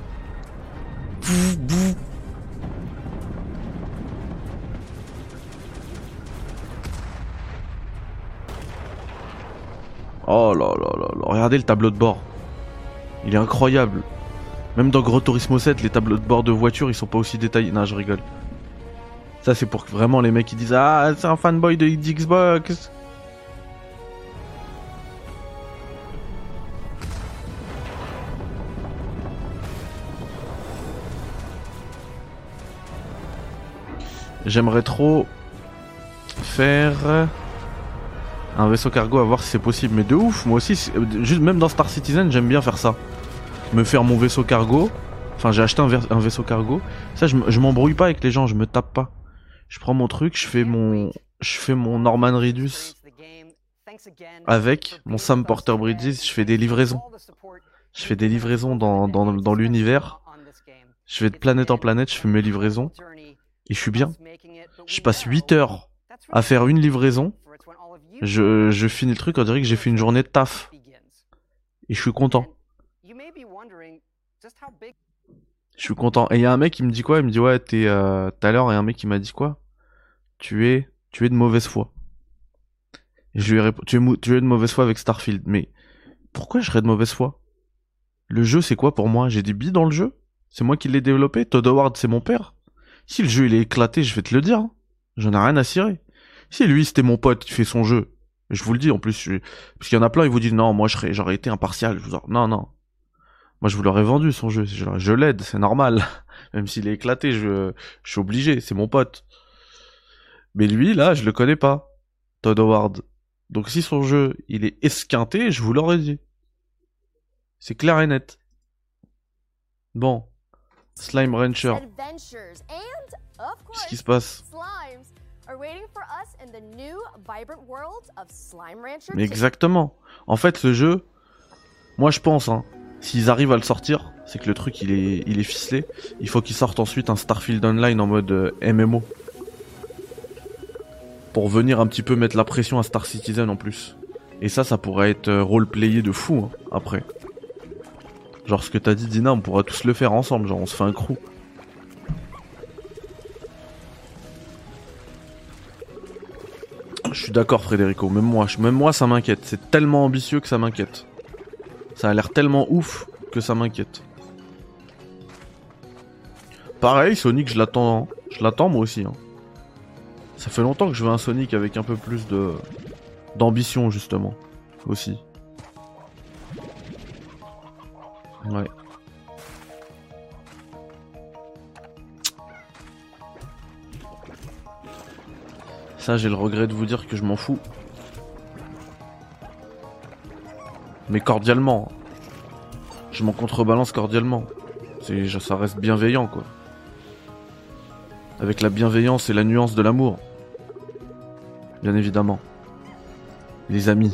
Oh là là là là, regardez le tableau de bord. Il est incroyable. Même dans Gran Turismo 7, les tableaux de bord de voiture, ils sont pas aussi détaillés. Non, je rigole. Ça, c'est pour que vraiment les mecs qui disent ah, c'est un fanboy de Xbox. J'aimerais trop faire un vaisseau cargo, à voir si c'est possible. Mais de ouf, moi aussi, juste même dans Star Citizen, j'aime bien faire ça. Me faire mon vaisseau cargo. Enfin, j'ai acheté un vaisseau cargo. Ça, je m'embrouille pas avec les gens, je me tape pas. Je prends mon truc, je fais mon Norman Reedus avec mon Sam Porter Bridges, je fais des livraisons. Je fais des livraisons dans l'univers. Je vais de planète en planète, je fais mes livraisons. Et je suis bien. Je passe 8 heures à faire une livraison. Je finis le truc, on dirait que j'ai fait une journée de taf. Et je suis content. Je suis content. Et il y a un mec qui me dit quoi? Il me dit ouais, tout à l'heure, il y a un mec qui m'a dit quoi? Tu es de mauvaise foi. Et je lui ai répondu, tu es de mauvaise foi avec Starfield. Mais pourquoi je serais de mauvaise foi? Le jeu, c'est quoi pour moi? J'ai des billes dans le jeu? C'est moi qui l'ai développé? Todd Howard, c'est mon père? Si le jeu il est éclaté, je vais te le dire. Hein. J'en ai rien à cirer. Si lui, c'était mon pote qui fait son jeu, je vous le dis en plus, parce qu'il y en a plein, ils vous disent non, moi j'aurais été impartial. Je vous dis, non. Moi je vous l'aurais vendu son jeu. Je l'aide, c'est normal. Même s'il est éclaté, je suis obligé, c'est mon pote. Mais lui, là, je le connais pas. Todd Howard. Donc si son jeu, il est esquinté, je vous l'aurais dit. C'est clair et net. Bon. Slime Rancher. Qu'est-ce qui se passe? Mais exactement. En fait, ce jeu, moi je pense, hein, s'ils arrivent à le sortir, c'est que le truc il est ficelé. Il faut qu'ils sortent ensuite un Starfield Online en mode MMO. Pour venir un petit peu mettre la pression à Star Citizen en plus. Et ça pourrait être roleplayé de fou, hein, après. Genre ce que t'as dit Dina, on pourra tous le faire ensemble, genre on se fait un crew. Je suis d'accord Frédérico, même moi ça m'inquiète, c'est tellement ambitieux que ça m'inquiète. Ça a l'air tellement ouf que ça m'inquiète. Pareil, Sonic je l'attends moi aussi. Hein. Ça fait longtemps que je veux un Sonic avec un peu plus d'ambition justement, aussi. Ouais. Ça, j'ai le regret de vous dire que je m'en fous. Mais cordialement. Je m'en contrebalance cordialement. Ça reste bienveillant, quoi. Avec la bienveillance et la nuance de l'amour. Bien évidemment. Les amis.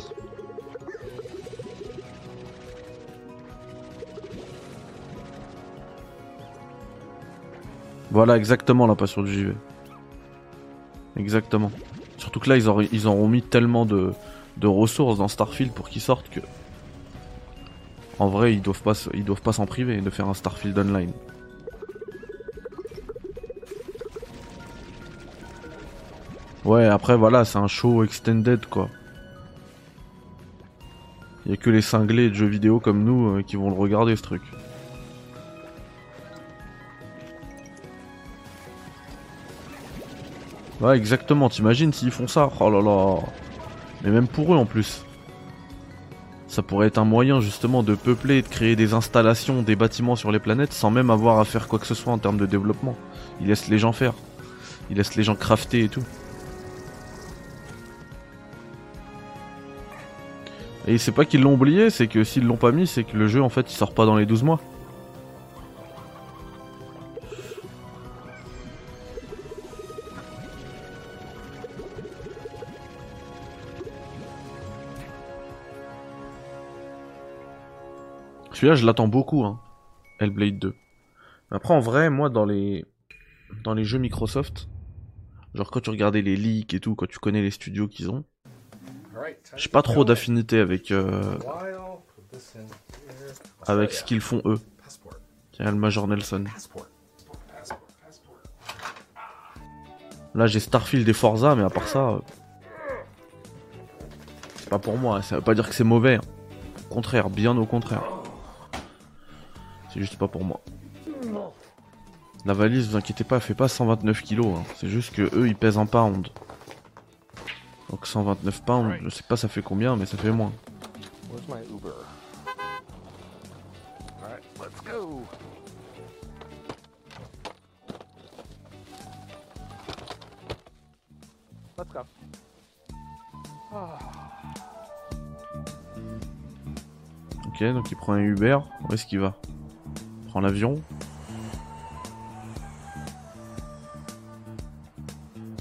Voilà exactement la passion du JV. Exactement. Surtout que là ils auront mis tellement de ressources dans Starfield pour qu'ils sortent que... En vrai ils doivent pas s'en priver de faire un Starfield Online. Ouais après voilà c'est un show extended quoi. Il y a que les cinglés de jeux vidéo comme nous qui vont le regarder ce truc. Ouais exactement, t'imagines s'ils font ça? Oh là là. Mais même pour eux en plus. Ça pourrait être un moyen justement de peupler, de créer des installations, des bâtiments sur les planètes sans même avoir à faire quoi que ce soit en termes de développement. Ils laissent les gens faire. Ils laissent les gens crafter et tout. Et c'est pas qu'ils l'ont oublié, c'est que s'ils l'ont pas mis, c'est que le jeu en fait il sort pas dans les 12 mois. Celui-là, je l'attends beaucoup, hein. Hellblade 2. Après, en vrai, moi, dans les jeux Microsoft, genre quand tu regardais les leaks et tout, quand tu connais les studios qu'ils ont, j'ai pas trop d'affinité avec ce qu'ils font eux. Tiens, le Major Nelson. Là, j'ai Starfield et Forza, mais à part ça, c'est pas pour moi. Ça veut pas dire que c'est mauvais. Hein. Au contraire, bien au contraire. C'est juste pas pour moi. La valise, vous inquiétez pas, elle fait pas 129 kilos. Hein. C'est juste que eux, ils pèsent un pound. Donc 129 pounds, je sais pas ça fait combien, mais ça fait moins. Ok, donc il prend un Uber. Où est-ce qu'il va? Il prend l'avion.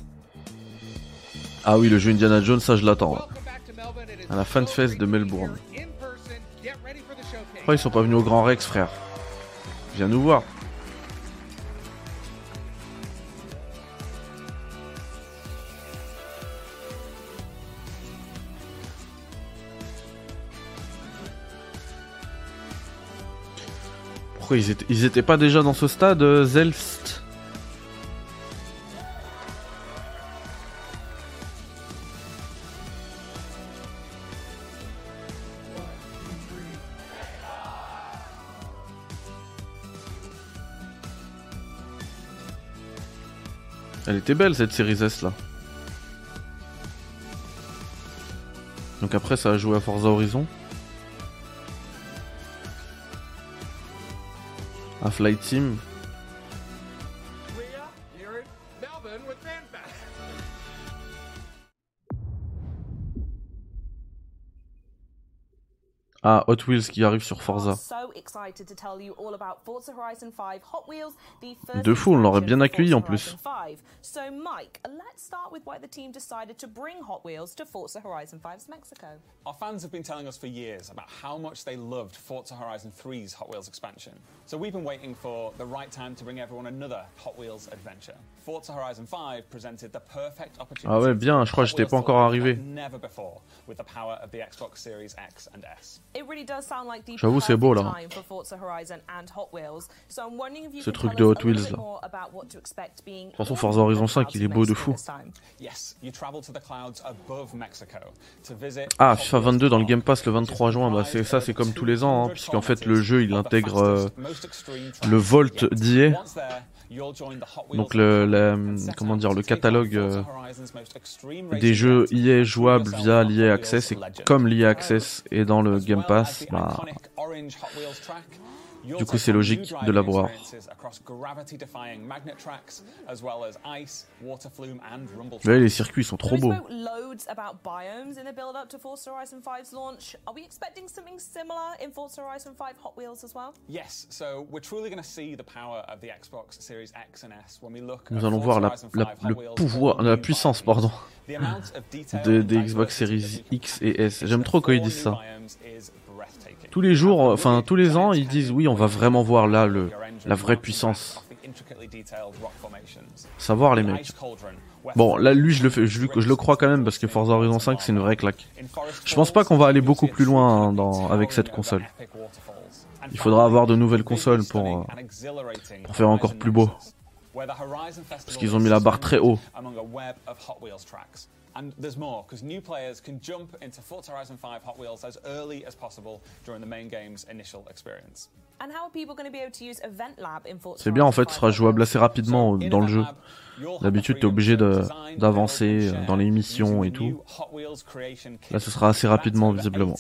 Ah oui, le jeu Indiana Jones, ça je l'attends. À la FanFest de Melbourne. Pourquoi ils sont pas venus au Grand Rex, frère? Viens nous voir. Pourquoi ils étaient pas déjà dans ce stade, Zelfst? Elle était belle cette Series S là. Donc après ça a joué à Forza Horizon. À Flight Sim. Ah, Hot Wheels qui arrive sur Forza. De fou, on l'aurait bien accueilli en plus. So Mike, let's start with why the team decided to bring Hot Wheels to Forza Horizon 5's Mexico. Our fans have been telling us for years about how much they loved Forza Horizon 3's Hot Wheels expansion. So we've been waiting for the right time to bring everyone another Hot Wheels adventure. Forza Horizon 5 presented the perfect opportunity. Ah ouais, bien, je crois que j'étais pas encore arrivé. Never before with the power of the Xbox Series X and S. It really does sound like the J'avoue, c'est beau là. Ce truc de Hot Wheels là. De toute façon, Forza Horizon 5, il est beau de fou. Ah, FIFA 22 dans le Game Pass le 23 juin, bah c'est ça, c'est comme tous les ans, hein, puisqu'en fait le jeu il intègre le Volt d'EA. Donc comment dire, le catalogue des jeux EA jouables via l'EA Access, et comme l'EA Access est dans le Game Pass, bah, du coup c'est logique de l'avoir. Là, les circuits sont trop beaux. Nous allons voir la puissance, pardon, des Xbox Series X et S. J'aime trop quand ils disent ça. Tous les jours, enfin tous les ans, ils disent oui, on va vraiment voir là la vraie puissance. Savoir les mecs. Bon, là lui je le crois quand même parce que Forza Horizon 5 c'est une vraie claque. Je pense pas qu'on va aller beaucoup plus loin hein, avec cette console. Il faudra avoir de nouvelles consoles pour faire encore plus beau. Parce qu'ils ont mis la barre très haut. And there's more, because new players can jump into Forza Horizon 5 Hot Wheels as early as possible during the main game's initial experience. And how are people going to be able to use Event Lab in Forza? C'est bien en fait, ce sera jouable assez rapidement dans le jeu. D'habitude, t'es obligé d'avancer dans les missions et tout. Là, ce sera assez rapidement, visiblement.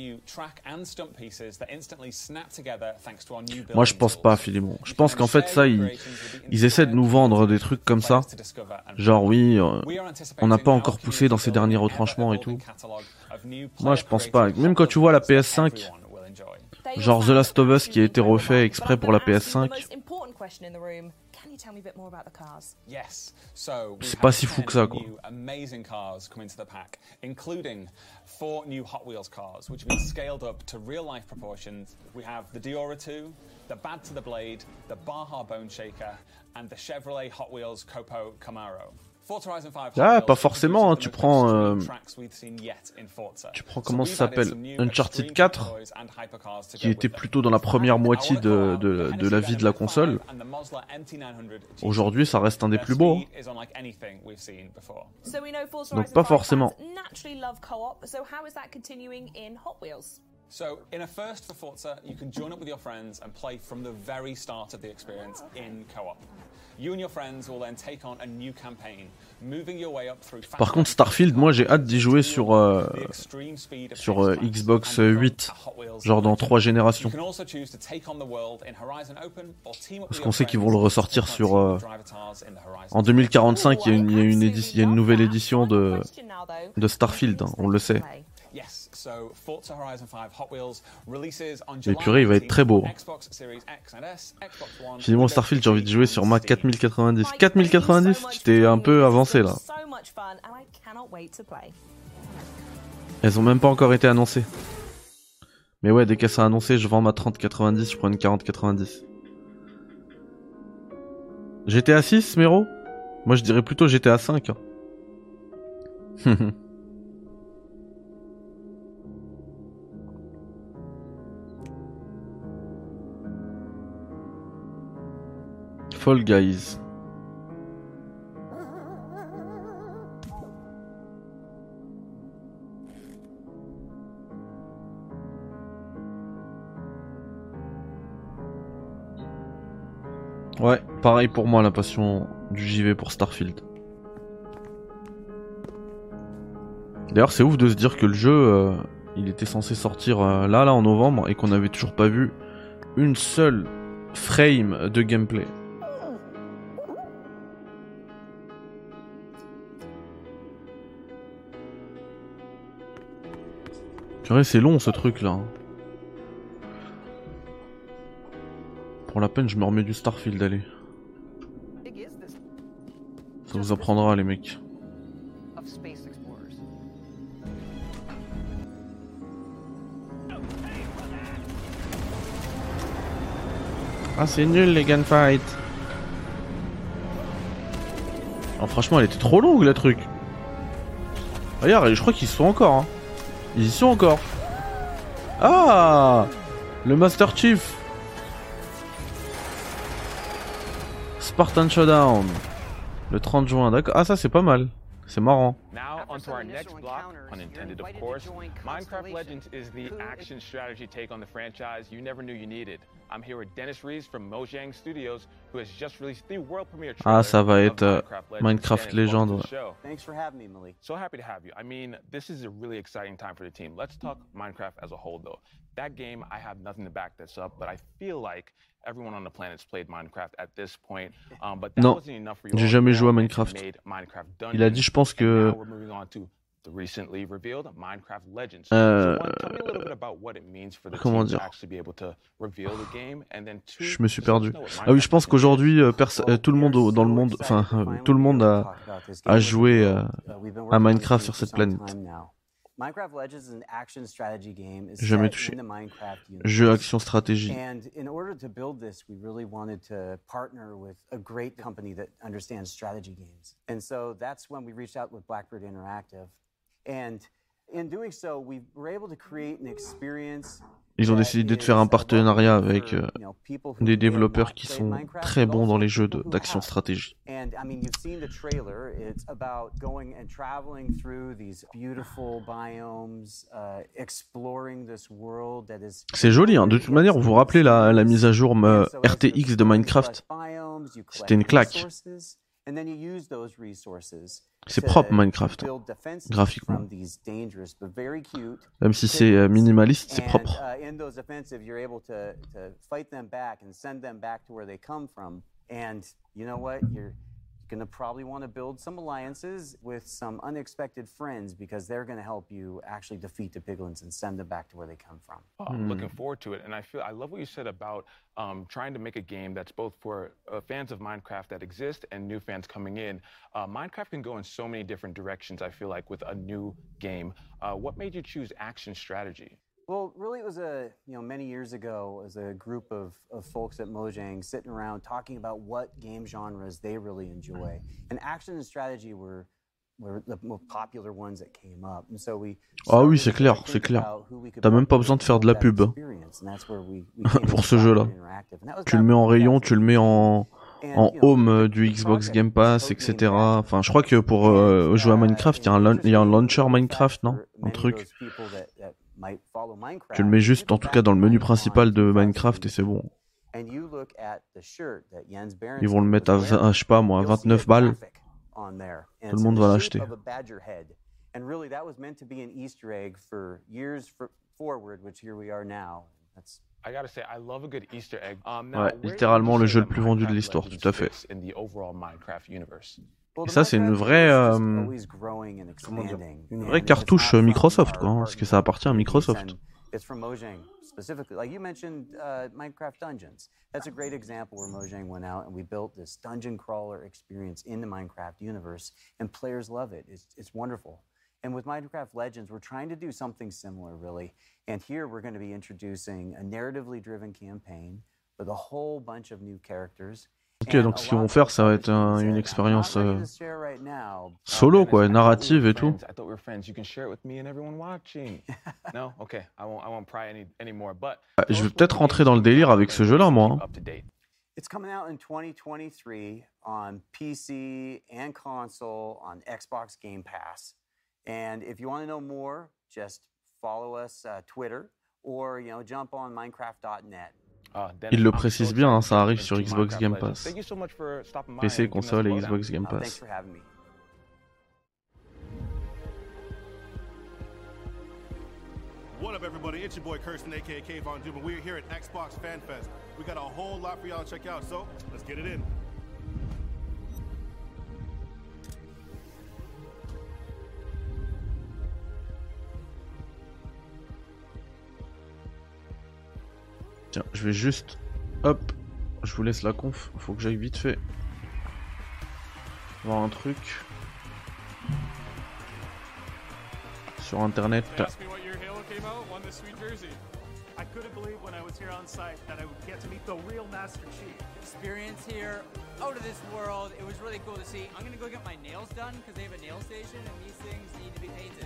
Moi, je pense pas, Philemon. Je pense qu'en fait, ça, ils essaient de nous vendre des trucs comme ça. Genre, oui, on n'a pas encore poussé dans ces derniers retranchements et tout. Moi, je pense pas. Même quand tu vois la PS5, genre The Last of Us qui a été refait exprès pour la PS5, c'est pas si fou que ça, quoi. Including 4 new Hot Wheels cars, which have been scaled up to real-life proportions. We have the Diora 2, the Bad to the Blade, the Baja Bone Shaker, and the Chevrolet Hot Wheels Copo Camaro. Ah, pas forcément, hein. Tu prends comment ça s'appelle, Uncharted 4, qui était plutôt dans la première moitié de la vie de la console. Aujourd'hui, ça reste un des plus beaux. Donc pas forcément. So, in a first for Forza, you can join up with your friends and play from the very start of the experience in co-op. You and your friends will then take on a new campaign, moving your way up through. Par contre, Starfield, moi j'ai hâte d'y jouer sur Xbox 8, genre dans 3 générations. Parce qu'on sait qu'ils vont le ressortir sur en 2045, il y a une nouvelle édition de Starfield, hein, on le sait. Mais purée, il va être très beau. Finalement, Starfield, j'ai envie de jouer sur ma 4090. 4090, tu t'es un peu avancé là. much fun and I cannot wait to play. Elles ont même pas encore été annoncées. Mais ouais, dès qu'elles sont annoncées, je vends ma 3090, je prends une 4090. GTA 6, Mero? Moi je dirais plutôt GTA 5. Hein. Fall Guys. Ouais, pareil pour moi, la passion du JV pour Starfield. D'ailleurs, c'est ouf de se dire que le jeu, il était censé sortir là en novembre et qu'on n'avait toujours pas vu une seule frame de gameplay. Purée, c'est long ce truc là. Pour la peine, je me remets du Starfield, allez. Ça vous apprendra, les mecs. Ah, c'est nul les gunfights. Alors, franchement, elle était trop longue, le truc. Regarde, je crois qu'ils y sont encore. Hein. Ils y sont encore. Ah, le Master Chief. Spartan Showdown. Le 30 juin, d'accord. Ah, ça c'est pas mal. C'est marrant. Now onto our next block, pun intended of course. Minecraft Legends is the action strategy take on the franchise you never knew you needed. I'm here with Dennis Rees from Mojang Studios, who has just released the world premiere trailer. Ah, ça va être Minecraft Legends. Thanks for having me, Malik. So happy to have you. I mean, this is a really exciting time for the team. Let's talk Minecraft as a whole, though. That game, I have nothing to back this up, but I feel like everyone on the planet's played Minecraft at this point. But that non, wasn't enough for you. J'ai jamais joué à Minecraft. Il a dit, je pense que. The recently revealed Minecraft Legends. So one, tell me a little bit about what it means for the comment team to dire? actually be able to reveal the game, and then two, Je me suis perdu. Ah oui, je pense qu'aujourd'hui, tout le monde dans le monde, enfin, tout le monde a joué à Minecraft sur cette planète. Minecraft Legends is an action strategy game. Jamais touché. Jeu action stratégie. And in order to build this, we really wanted to partner with a great company that understands strategy games. And so that's when we reached out with Blackbird Interactive. And in doing so, we were able to create an experience. Ils ont décidé de faire un partenariat avec des développeurs qui sont très bons dans les jeux d'action stratégie. C'est joli, hein. De toute manière, vous vous rappelez la mise à jour RTX de Minecraft? C'était une claque. C'est propre Minecraft, graphiquement. Même si c'est minimaliste, c'est propre. Going to probably want to build some alliances with some unexpected friends because they're going to help you actually defeat the piglins and send them back to where they come from. I'm looking forward to it, and I love what you said about trying to make a game that's both for fans of Minecraft that exist and new fans coming in. Minecraft can go in so many different directions, I feel like, with a new game. What made you choose action strategy? Well, really, it was many years ago, as a group of folks at Mojang sitting around talking about what game genres they really enjoy, and action and strategy were the most popular ones that came up. And so we. Ah oui, c'est clair, c'est clair. T'as même pas besoin de faire de la pub pour ce jeu-là. Tu le mets en rayon, tu le mets en home du Xbox Game Pass, etc. Enfin, je crois que pour jouer à Minecraft, il y a un launcher Minecraft, non? Un truc. Tu le mets juste, en tout cas, dans le menu principal de Minecraft et c'est bon. Ils vont le mettre à, je sais pas moi, 29 balles. Tout le monde va l'acheter. Ouais, littéralement le jeu le plus vendu de l'histoire, tout à fait. Et ça, c'est une vraie, comment dire, une vraie cartouche Microsoft, quoi, hein, parce que ça appartient à Microsoft. It's from Mojang specifically. Like you mentioned, Minecraft Dungeons. That's a great example where Mojang went out and we built this dungeon crawler experience in the Minecraft universe, and players love it. It's wonderful. And with Minecraft Legends, we're trying to do something similar, really. And here we're going to be introducing a narratively driven campaign with a whole bunch of new characters. Ok, donc ce qu'ils vont faire, ça va être une expérience solo, quoi, narrative et tout. Je vais peut-être rentrer dans le délire avec ce jeu-là, moi. It's coming out in 2023 on PC and console on Xbox Game Pass. And if you want to know more, just follow us Twitter or jump on Minecraft.net. Il le précise bien, hein, ça arrive sur Xbox Game Pass. PC, console et Xbox Game Pass. What up, everybody? It's your boy Kirsten, aka Kayvon Doom, and we're here at Xbox Fan Fest. We got a whole lot for y'all to check out, so let's get it in. Tiens, je vais juste... Hop, je vous laisse la conf, faut que j'aille vite fait voir un truc sur internet. I couldn't believe when I was here on site that I would get to meet the real Master Chief. Experience here, out of this world. It was really cool to see. I'm gonna go get my nails done because they have a nail station and these things need to be painted.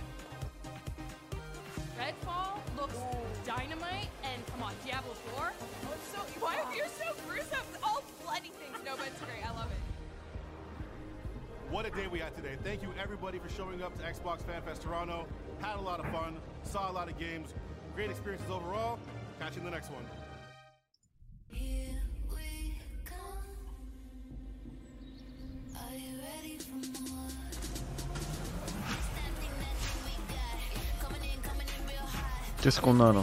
Redfall looks dynamite, and come on, Diablo 4. Oh, it's so, why are you so gruesome? All bloody things. No, but it's great. I love it. What a day we had today. Thank you everybody for showing up to Xbox Fan Fest Toronto. Had a lot of fun, saw a lot of games. Great experiences overall. Catch you in the next one. Here we come. Are you ready for more? Qu'est-ce qu'on a là?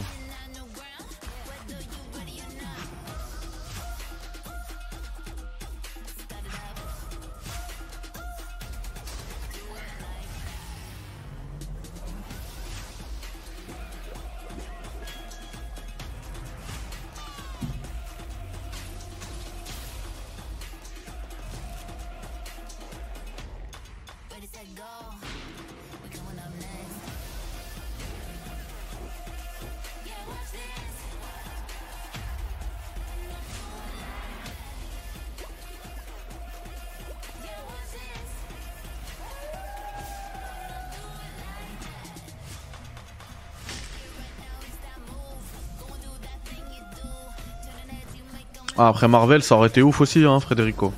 Ah, après Marvel, ça aurait été ouf aussi, hein, Federico.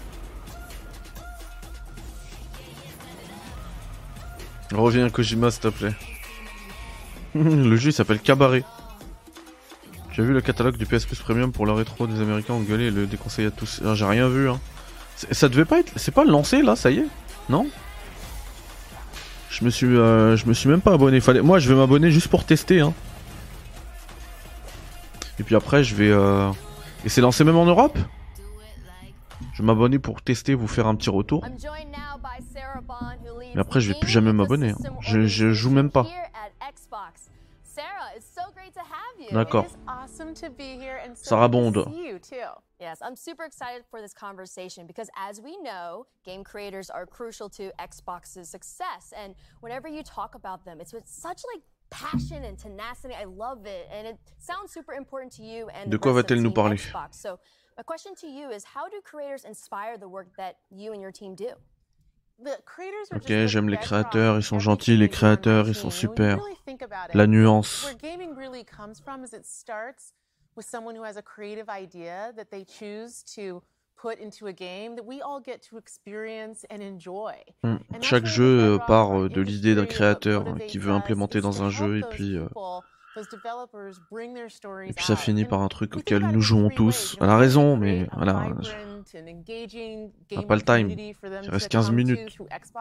Reviens Kojima, s'il te plaît. Le jeu il s'appelle Cabaret. Tu as vu le catalogue du PS Plus Premium pour le rétro des Américains engueulés et le déconseillé à tous? J'ai rien vu, hein. Ça devait pas être... C'est pas lancé là, ça y est? Non? Je me suis même pas abonné. Moi je vais m'abonner juste pour tester, hein. Et puis après je vais... Et c'est lancé même en Europe? Je vais m'abonner pour tester, vous faire un petit retour. Mais après je vais plus jamais m'abonner, hein. Je joue même pas. D'accord. Sarah Bond. Yes, I'm super excited for this conversation because as we know, game creators are crucial to Xbox's success. And whenever you talk about them, it's with such like passion and tenacity. I love it, and it sounds super important to you and De quoi va-t-elle nous parler? Xbox. So my question to you is, how do creators inspire the work that you and your team do? Ok, j'aime les créateurs, ils sont gentils, les créateurs, ils sont super. La nuance. With someone who has a creative idea that they choose to put into a game that we all get to experience and enjoy. Chaque jeu part de l'idée d'un créateur qui veut implémenter dans un jeu et puis ça finit par un truc auquel nous jouons tous. Elle a raison, mais voilà, on n'a pas le time. Il reste 15 minutes.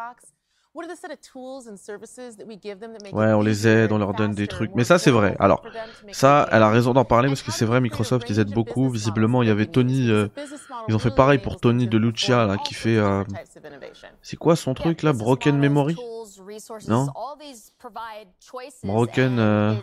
Ouais, on les aide, on leur donne des trucs. Mais ça, c'est vrai. Alors, ça, elle a raison d'en parler parce que c'est vrai, Microsoft, ils aident beaucoup. Visiblement, il y avait Tony Ils ont fait pareil pour Tony de Lucia là, qui fait. C'est quoi son truc là, Broken Memory? Non. Broken.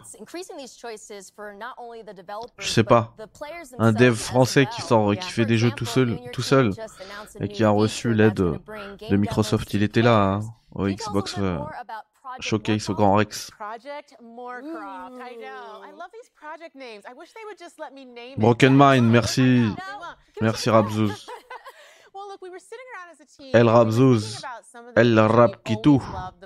Je sais pas. Un dev français qui sort, qui fait des jeux tout seul, et qui a reçu l'aide de Microsoft. Il était là hein, au Xbox Showcase au Grand Rex. Broken Mind, merci. Merci Rabzouz. El Rabzouz. El Rabkitou.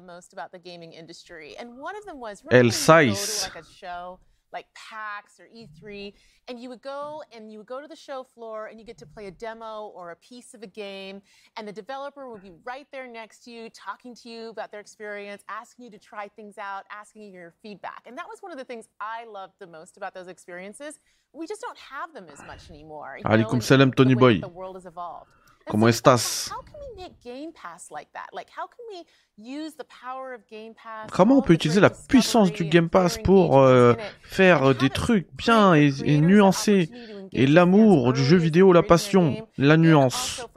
El Sais. Like PAX or E3, and you would go to the show floor and you get to play a demo or a piece of a game, and the developer would be right there next to you, talking to you about their experience, asking you to try things out, asking you your feedback. And that was one of the things I loved the most about those experiences. We just don't have them as much anymore. Alaikum salam Tony Boy. ¿Cómo estás? Comment on peut utiliser la puissance du Game Pass pour faire des trucs bien et nuancés, et l'amour du jeu vidéo, la passion, la nuance.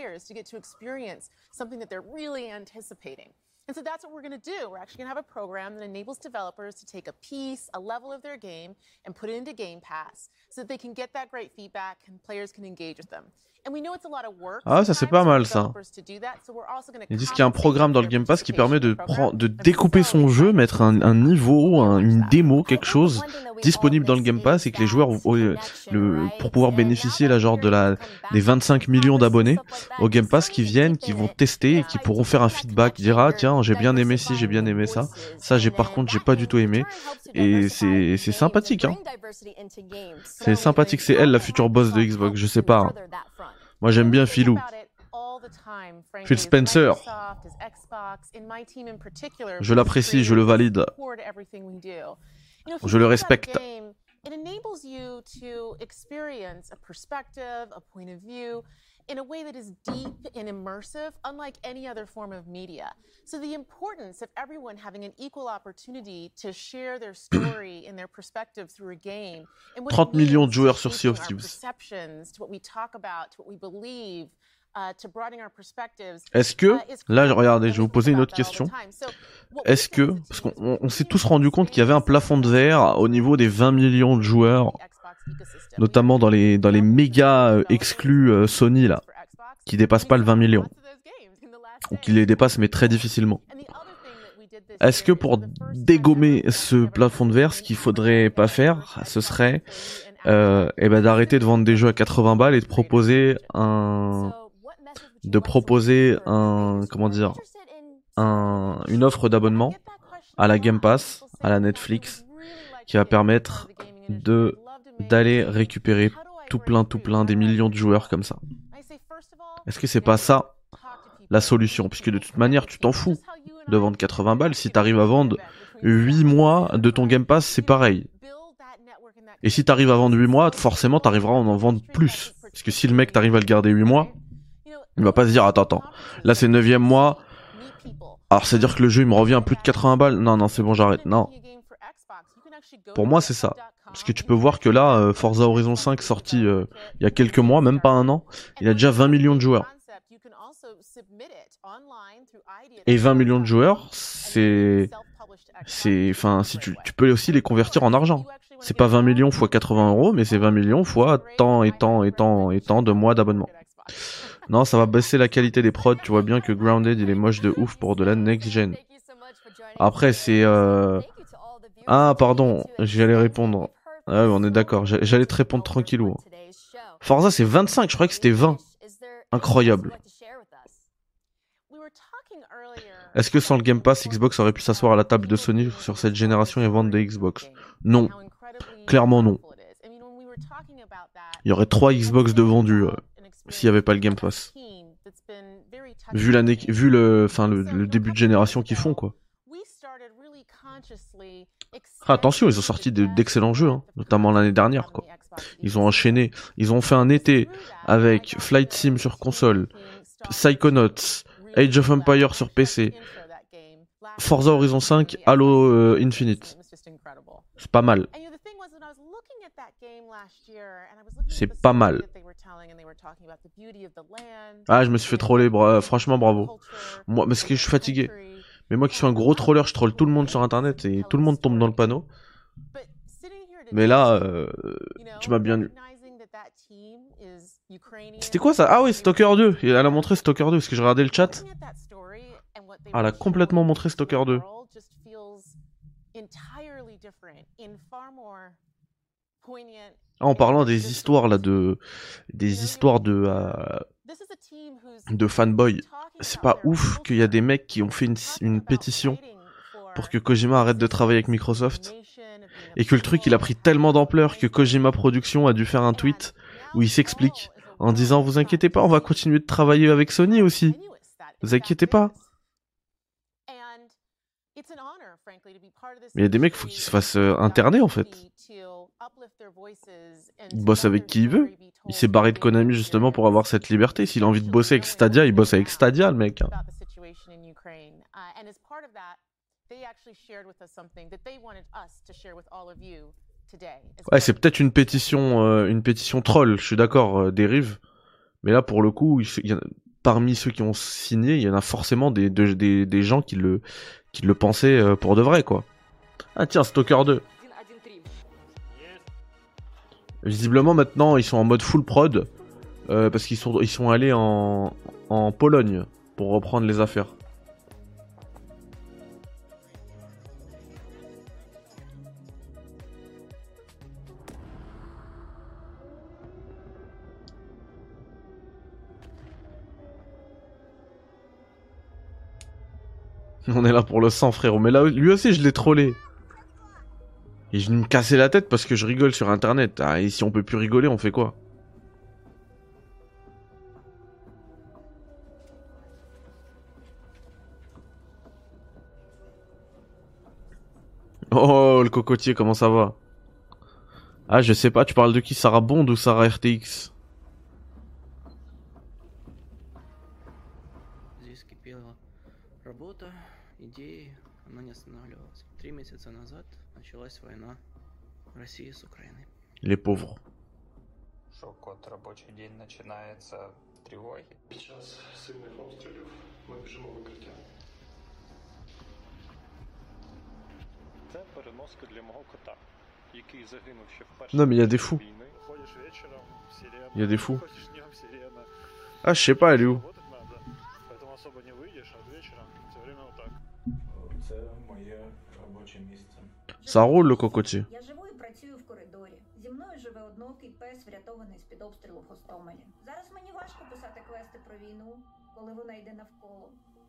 And so that's what we're going to do. We're actually going to have a program that enables developers to take a piece, a level of their game, and put it into Game Pass so that they can get that great feedback and players can engage with them. Ah, ça c'est pas mal ça. Ils disent qu'il y a un programme dans le Game Pass qui permet de découper son jeu, mettre un niveau, une démo, quelque chose disponible dans le Game Pass, et que les joueurs, pour pouvoir bénéficier là, genre des 25 millions d'abonnés au Game Pass qui viennent, qui vont tester et qui pourront faire un feedback, dire ah tiens j'ai bien aimé ci, j'ai bien aimé ça, par contre j'ai pas du tout aimé, et c'est sympathique hein. C'est sympathique, c'est elle la future boss de Xbox, je sais pas. Hein. Moi j'aime bien Philou. Phil Spencer. Je l'apprécie, je le valide. Je le respecte. It enables you to experience a perspective, a point of view, in a way that is deep and immersive, unlike any other form of media. So the importance of everyone having an equal opportunity to share their story and their perspective through a game. 30 millions de joueurs sur Sea of Thieves. To what we talk about, to what we believe. Est-ce que, là regardez, je vais vous poser une autre question. Est-ce que, parce qu'on s'est tous rendu compte qu'il y avait un plafond de verre au niveau des 20 millions de joueurs, notamment dans les méga exclus Sony là, qui dépassent pas le 20 millions, ou qui les dépassent mais très difficilement. Est-ce que pour dégommer ce plafond de verre, ce qu'il faudrait pas faire, ce serait d'arrêter de vendre des jeux à 80 balles et de proposer une offre d'abonnement à la Game Pass, à la Netflix, qui va permettre d'aller récupérer tout plein des millions de joueurs comme ça. Est-ce que c'est pas ça la solution? Puisque de toute manière tu t'en fous de vendre 80 balles, si t'arrives à vendre 8 mois de ton Game Pass, c'est pareil. Et si t'arrives à vendre 8 mois, forcément t'arriveras à en vendre plus. Parce que si le mec t'arrive à le garder 8 mois, il va pas se dire attends, là c'est le 9e mois, alors c'est dire que le jeu il me revient à plus de 80 balles, non c'est bon j'arrête, non. Pour moi c'est ça. Parce que tu peux voir que là, Forza Horizon 5 sorti il y a quelques mois, même pas un an, il a déjà 20 millions de joueurs. Et 20 millions de joueurs, enfin, si tu peux aussi les convertir en argent. C'est pas 20 millions fois 80 €, mais c'est 20 millions fois tant de mois d'abonnement. Non, ça va baisser la qualité des prods. Tu vois bien que Grounded, il est moche de ouf pour de la next-gen. Après, c'est... Ah, pardon, j'allais répondre. Ah oui, on est d'accord. J'allais te répondre tranquillou. Forza, c'est 25, je croyais que c'était 20. Incroyable. Est-ce que sans le Game Pass, Xbox aurait pu s'asseoir à la table de Sony sur cette génération et vendre des Xbox? Non. Clairement non. Il y aurait 3 Xbox de vendus s'il n'y avait pas le Game Pass. Vu le début de génération qu'ils font, quoi. Attention, ils ont sorti d'excellents jeux, hein, notamment l'année dernière, quoi. Ils ont enchaîné, ils ont fait un été avec Flight Sim sur console, Psychonauts, Age of Empires sur PC, Forza Horizon 5, Halo Infinite. C'est pas mal. C'est pas mal. Ah, je me suis fait troller, franchement bravo. Moi, parce que je suis fatigué. Mais moi qui suis un gros troller, je troll tout le monde sur internet et tout le monde tombe dans le panneau. Mais là, tu m'as bien eu. C'était quoi ça? Ah oui, Stalker 2. Elle a montré Stalker 2 parce que je regardais le chat. Ah, elle a complètement montré Stalker 2. Ah, en parlant des histoires là de fanboy, c'est pas ouf qu'il y a des mecs qui ont fait une pétition pour que Kojima arrête de travailler avec Microsoft et que le truc il a pris tellement d'ampleur que Kojima Productions a dû faire un tweet où il s'explique en disant vous inquiétez pas, on va continuer de travailler avec Sony aussi. Vous inquiétez pas. Mais il y a des mecs, faut qu'ils se fassent interner en fait. Il bosse avec qui il veut. Il s'est barré de Konami justement pour avoir cette liberté. S'il a envie de bosser avec Stadia, il bosse avec Stadia, le mec. Ouais, c'est peut-être une pétition troll, je suis d'accord, dérive. Mais là, pour le coup, parmi ceux qui ont signé, il y en a forcément des gens qui le pensaient pour de vrai, quoi. Ah tiens, Stalker 2. Visiblement maintenant ils sont en mode full prod parce qu'ils sont allés en Pologne pour reprendre les affaires. On est là pour le sang, frérot. Mais là, lui aussi je l'ai trollé. Et je vais me casser la tête parce que je rigole sur internet. Ah, et si on peut plus rigoler, on fait quoi? Oh, le cocotier, comment ça va? Ah, je sais pas, tu parles de qui? Sarah Bond ou Sarah RTX? Les pauvres. От робочий день починається тривоги. Під час сильних обстрілів ми біжимо в укриття. Це переноска для мого кота, який загинув ще в першій Non mais il y a des fous. Il y a des fous. Ah, je sais pas, elle est où? Поэтому особо не выйдешь, а вечером все время вот так. Це моє робоче місце. Ça roule le cocotier. Я живу і працюю в коридорі. Зі мною живе одноокий пес, врятований з-під обстрілу в Гостомелі. Зараз мені важко писати квести про війну, коли вона йде навколо.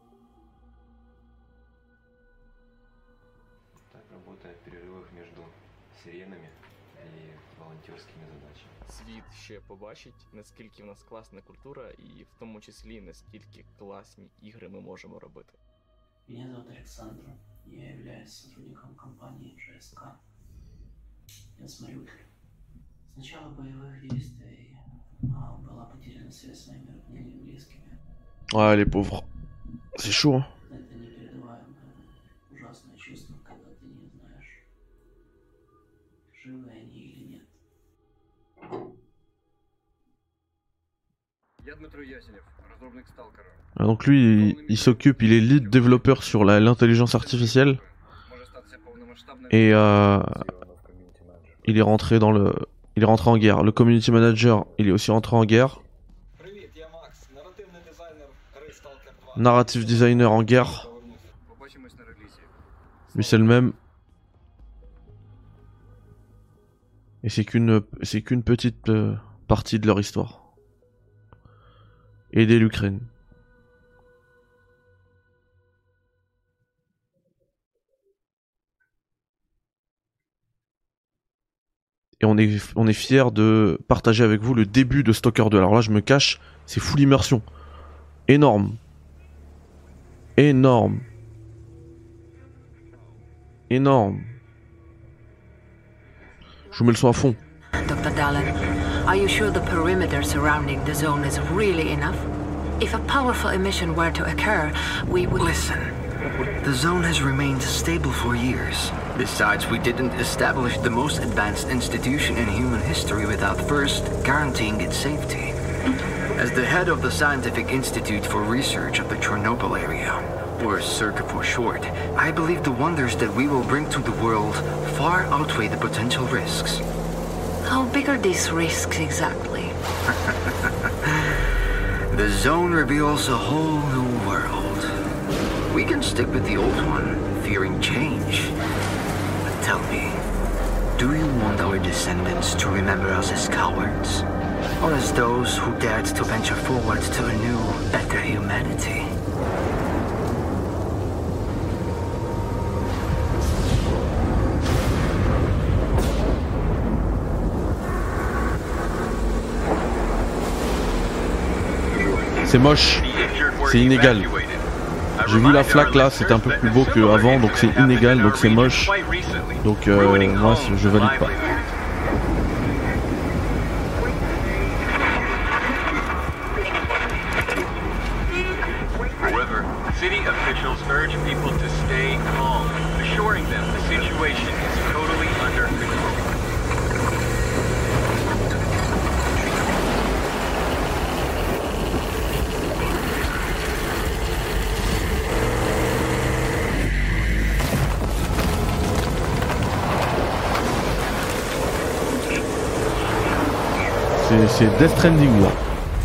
Так работает в перерывах между сиренами и волонтерскими задачами. Світ ще побачить, наскільки в нас класна культура і в тому числі наскільки класні ігри ми можемо робити. Меня зовут Александр. Я являюсь сотрудником компании GSK. Я с Мариуполя. С начала боевых действий была потеряна связь с моими родными и близкими. Ouais, les pauvres. C'est chaud. Hein. Это непередаваемое, ужасное чувство, когда ты не знаешь, живы они или нет. Я Дмитро Ясенев, разработчик Сталкера. Donc lui, il s'occupe, il est lead développeur sur l'intelligence artificielle. Et il est rentré en guerre. Le community manager, il est aussi rentré en guerre. Narrative designer en guerre. Lui c'est le même. Et c'est qu'une petite partie de leur histoire. Aider l'Ukraine. Et on est fiers de partager avec vous le début de Stalker 2. Alors là je me cache, c'est full immersion. Énorme. Énorme. Énorme. Je vous mets le son à fond. Dr. Dallin, are you sure the perimeter surrounding the zone is really enough? If a powerful emission were to occur, we would... Listen, The zone has remained stable for years. Besides, we didn't establish the most advanced institution in human history without first guaranteeing its safety. As the head of the Scientific Institute for Research of the Chernobyl area, or CERC for short, I believe the wonders that we will bring to the world far outweigh the potential risks. How big are these risks exactly? The zone reveals a whole new world. We can stick with the old one, fearing change. But tell me, do you want our descendants to remember us as cowards? Or as those who dared to venture forward to a new, better humanity? C'est moche, c'est inégal. J'ai vu la flaque là, c'était un peu plus beau qu'avant, donc c'est inégal, donc c'est moche. Donc moi je valide pas. However, city officials urge people to stay calm, assuring them the situation is totally under control. C'est Death Stranding là.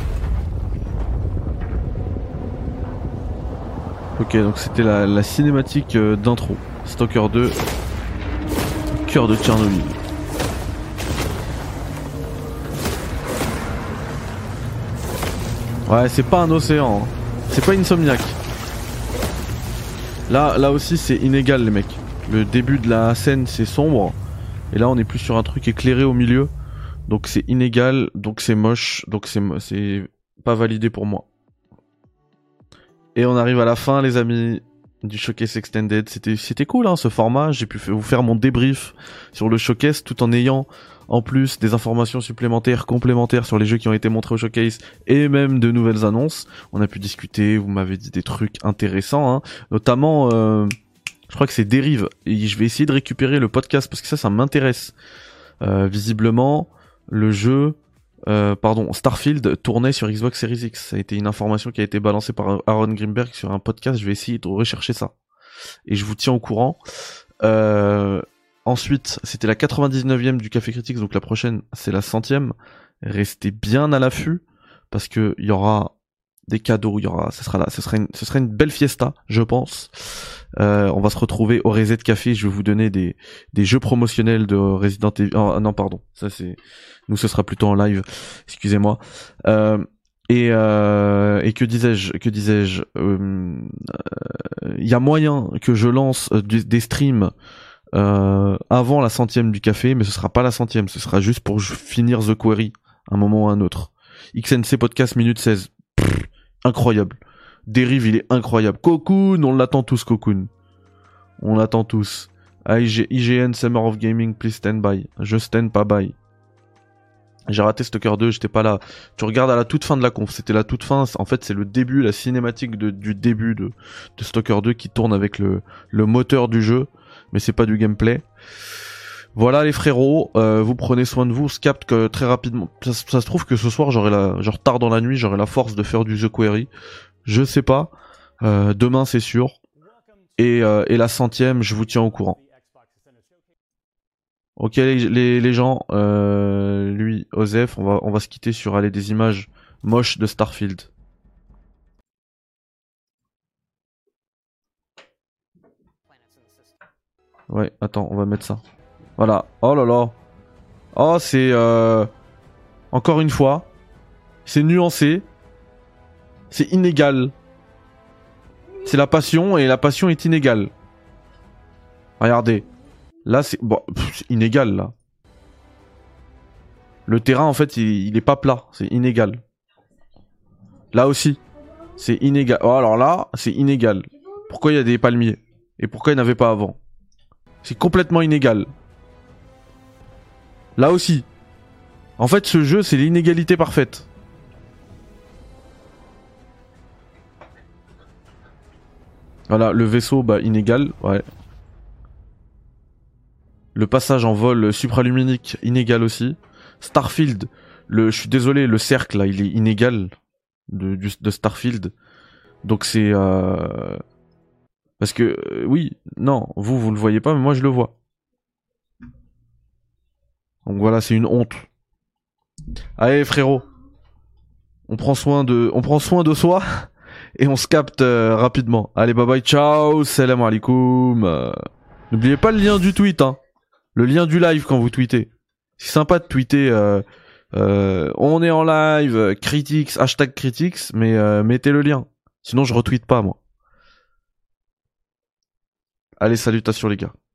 Ok, donc c'était la cinématique d'intro. Stalker 2, cœur de Tchernobyl. Ouais, c'est pas un océan, hein. C'est pas Insomniac. Là aussi c'est inégal les mecs. Le début de la scène c'est sombre. Et là on est plus sur un truc éclairé au milieu. Donc c'est inégal, donc c'est moche, donc c'est pas validé pour moi. Et on arrive à la fin les amis du Showcase Extended. C'était cool hein, ce format, j'ai pu vous faire mon débrief sur le Showcase tout en ayant en plus des informations supplémentaires, complémentaires sur les jeux qui ont été montrés au Showcase et même de nouvelles annonces. On a pu discuter, vous m'avez dit des trucs intéressants, hein. Notamment je crois que c'est Dérive, et je vais essayer de récupérer le podcast parce que ça m'intéresse. Visiblement le jeu, Starfield tournait sur Xbox Series X. Ça a été une information qui a été balancée par Aaron Greenberg sur un podcast. Je vais essayer de rechercher ça. Et je vous tiens au courant. Ensuite, c'était la 99e du Café Critics, donc la prochaine, c'est la 100e. Restez bien à l'affût, parce que il y aura des cadeaux, ce sera une belle fiesta, je pense. On va se retrouver au Reset Café, je vais vous donner des jeux promotionnels de Resident Evil. Oh, non, pardon, ça c'est, nous ce sera plutôt en live, excusez-moi. Et que disais-je, il y a moyen que je lance des streams avant la 100e du café, mais ce sera pas la 100e, ce sera juste pour finir The Quarry, un moment ou un autre. XNC Podcast minute 16. Incroyable. Dérive, il est incroyable. Cocoon, on l'attend tous, Cocoon. On l'attend tous. IGN Summer of Gaming, please stand by. Je stand pas by. J'ai raté Stalker 2, j'étais pas là. Tu regardes à la toute fin de la conf, c'était la toute fin. En fait, c'est le début, la cinématique du début de Stalker 2 qui tourne avec le moteur du jeu, mais c'est pas du gameplay. Voilà les frérots, vous prenez soin de vous, se capte que très rapidement. Ça se trouve que ce soir genre tard dans la nuit, j'aurai la force de faire du The Quarry. Je sais pas. Demain c'est sûr. Et la 100e, je vous tiens au courant. Ok les gens, lui, Osef, on va se quitter sur des images moches de Starfield. Ouais, attends, on va mettre ça. Voilà, oh là là. Oh, c'est encore une fois, c'est nuancé, c'est inégal. C'est la passion et la passion est inégale. Regardez, là c'est c'est inégal là. Le terrain en fait il est pas plat, c'est inégal. Là aussi, c'est inégal. Oh alors là, c'est inégal. Pourquoi il y a des palmiers? Et pourquoi il n'y en avait pas avant? C'est complètement inégal. Là aussi. En fait, ce jeu, c'est l'inégalité parfaite. Voilà, le vaisseau, bah, inégal, ouais. Le passage en vol supraluminique, inégal aussi. Starfield, je suis désolé, le cercle, là, il est inégal de Starfield. Donc c'est... Parce que, oui, non, vous le voyez pas, mais moi je le vois. Donc voilà, c'est une honte. Allez, frérot. On prend soin de soi et on se capte rapidement. Allez, bye bye, ciao, salam alaikum. N'oubliez pas le lien du tweet, hein. Le lien du live quand vous tweetez. C'est sympa de tweeter on est en live, critiques, hashtag critiques, mais mettez le lien. Sinon je retweete pas, moi. Allez, salutations les gars.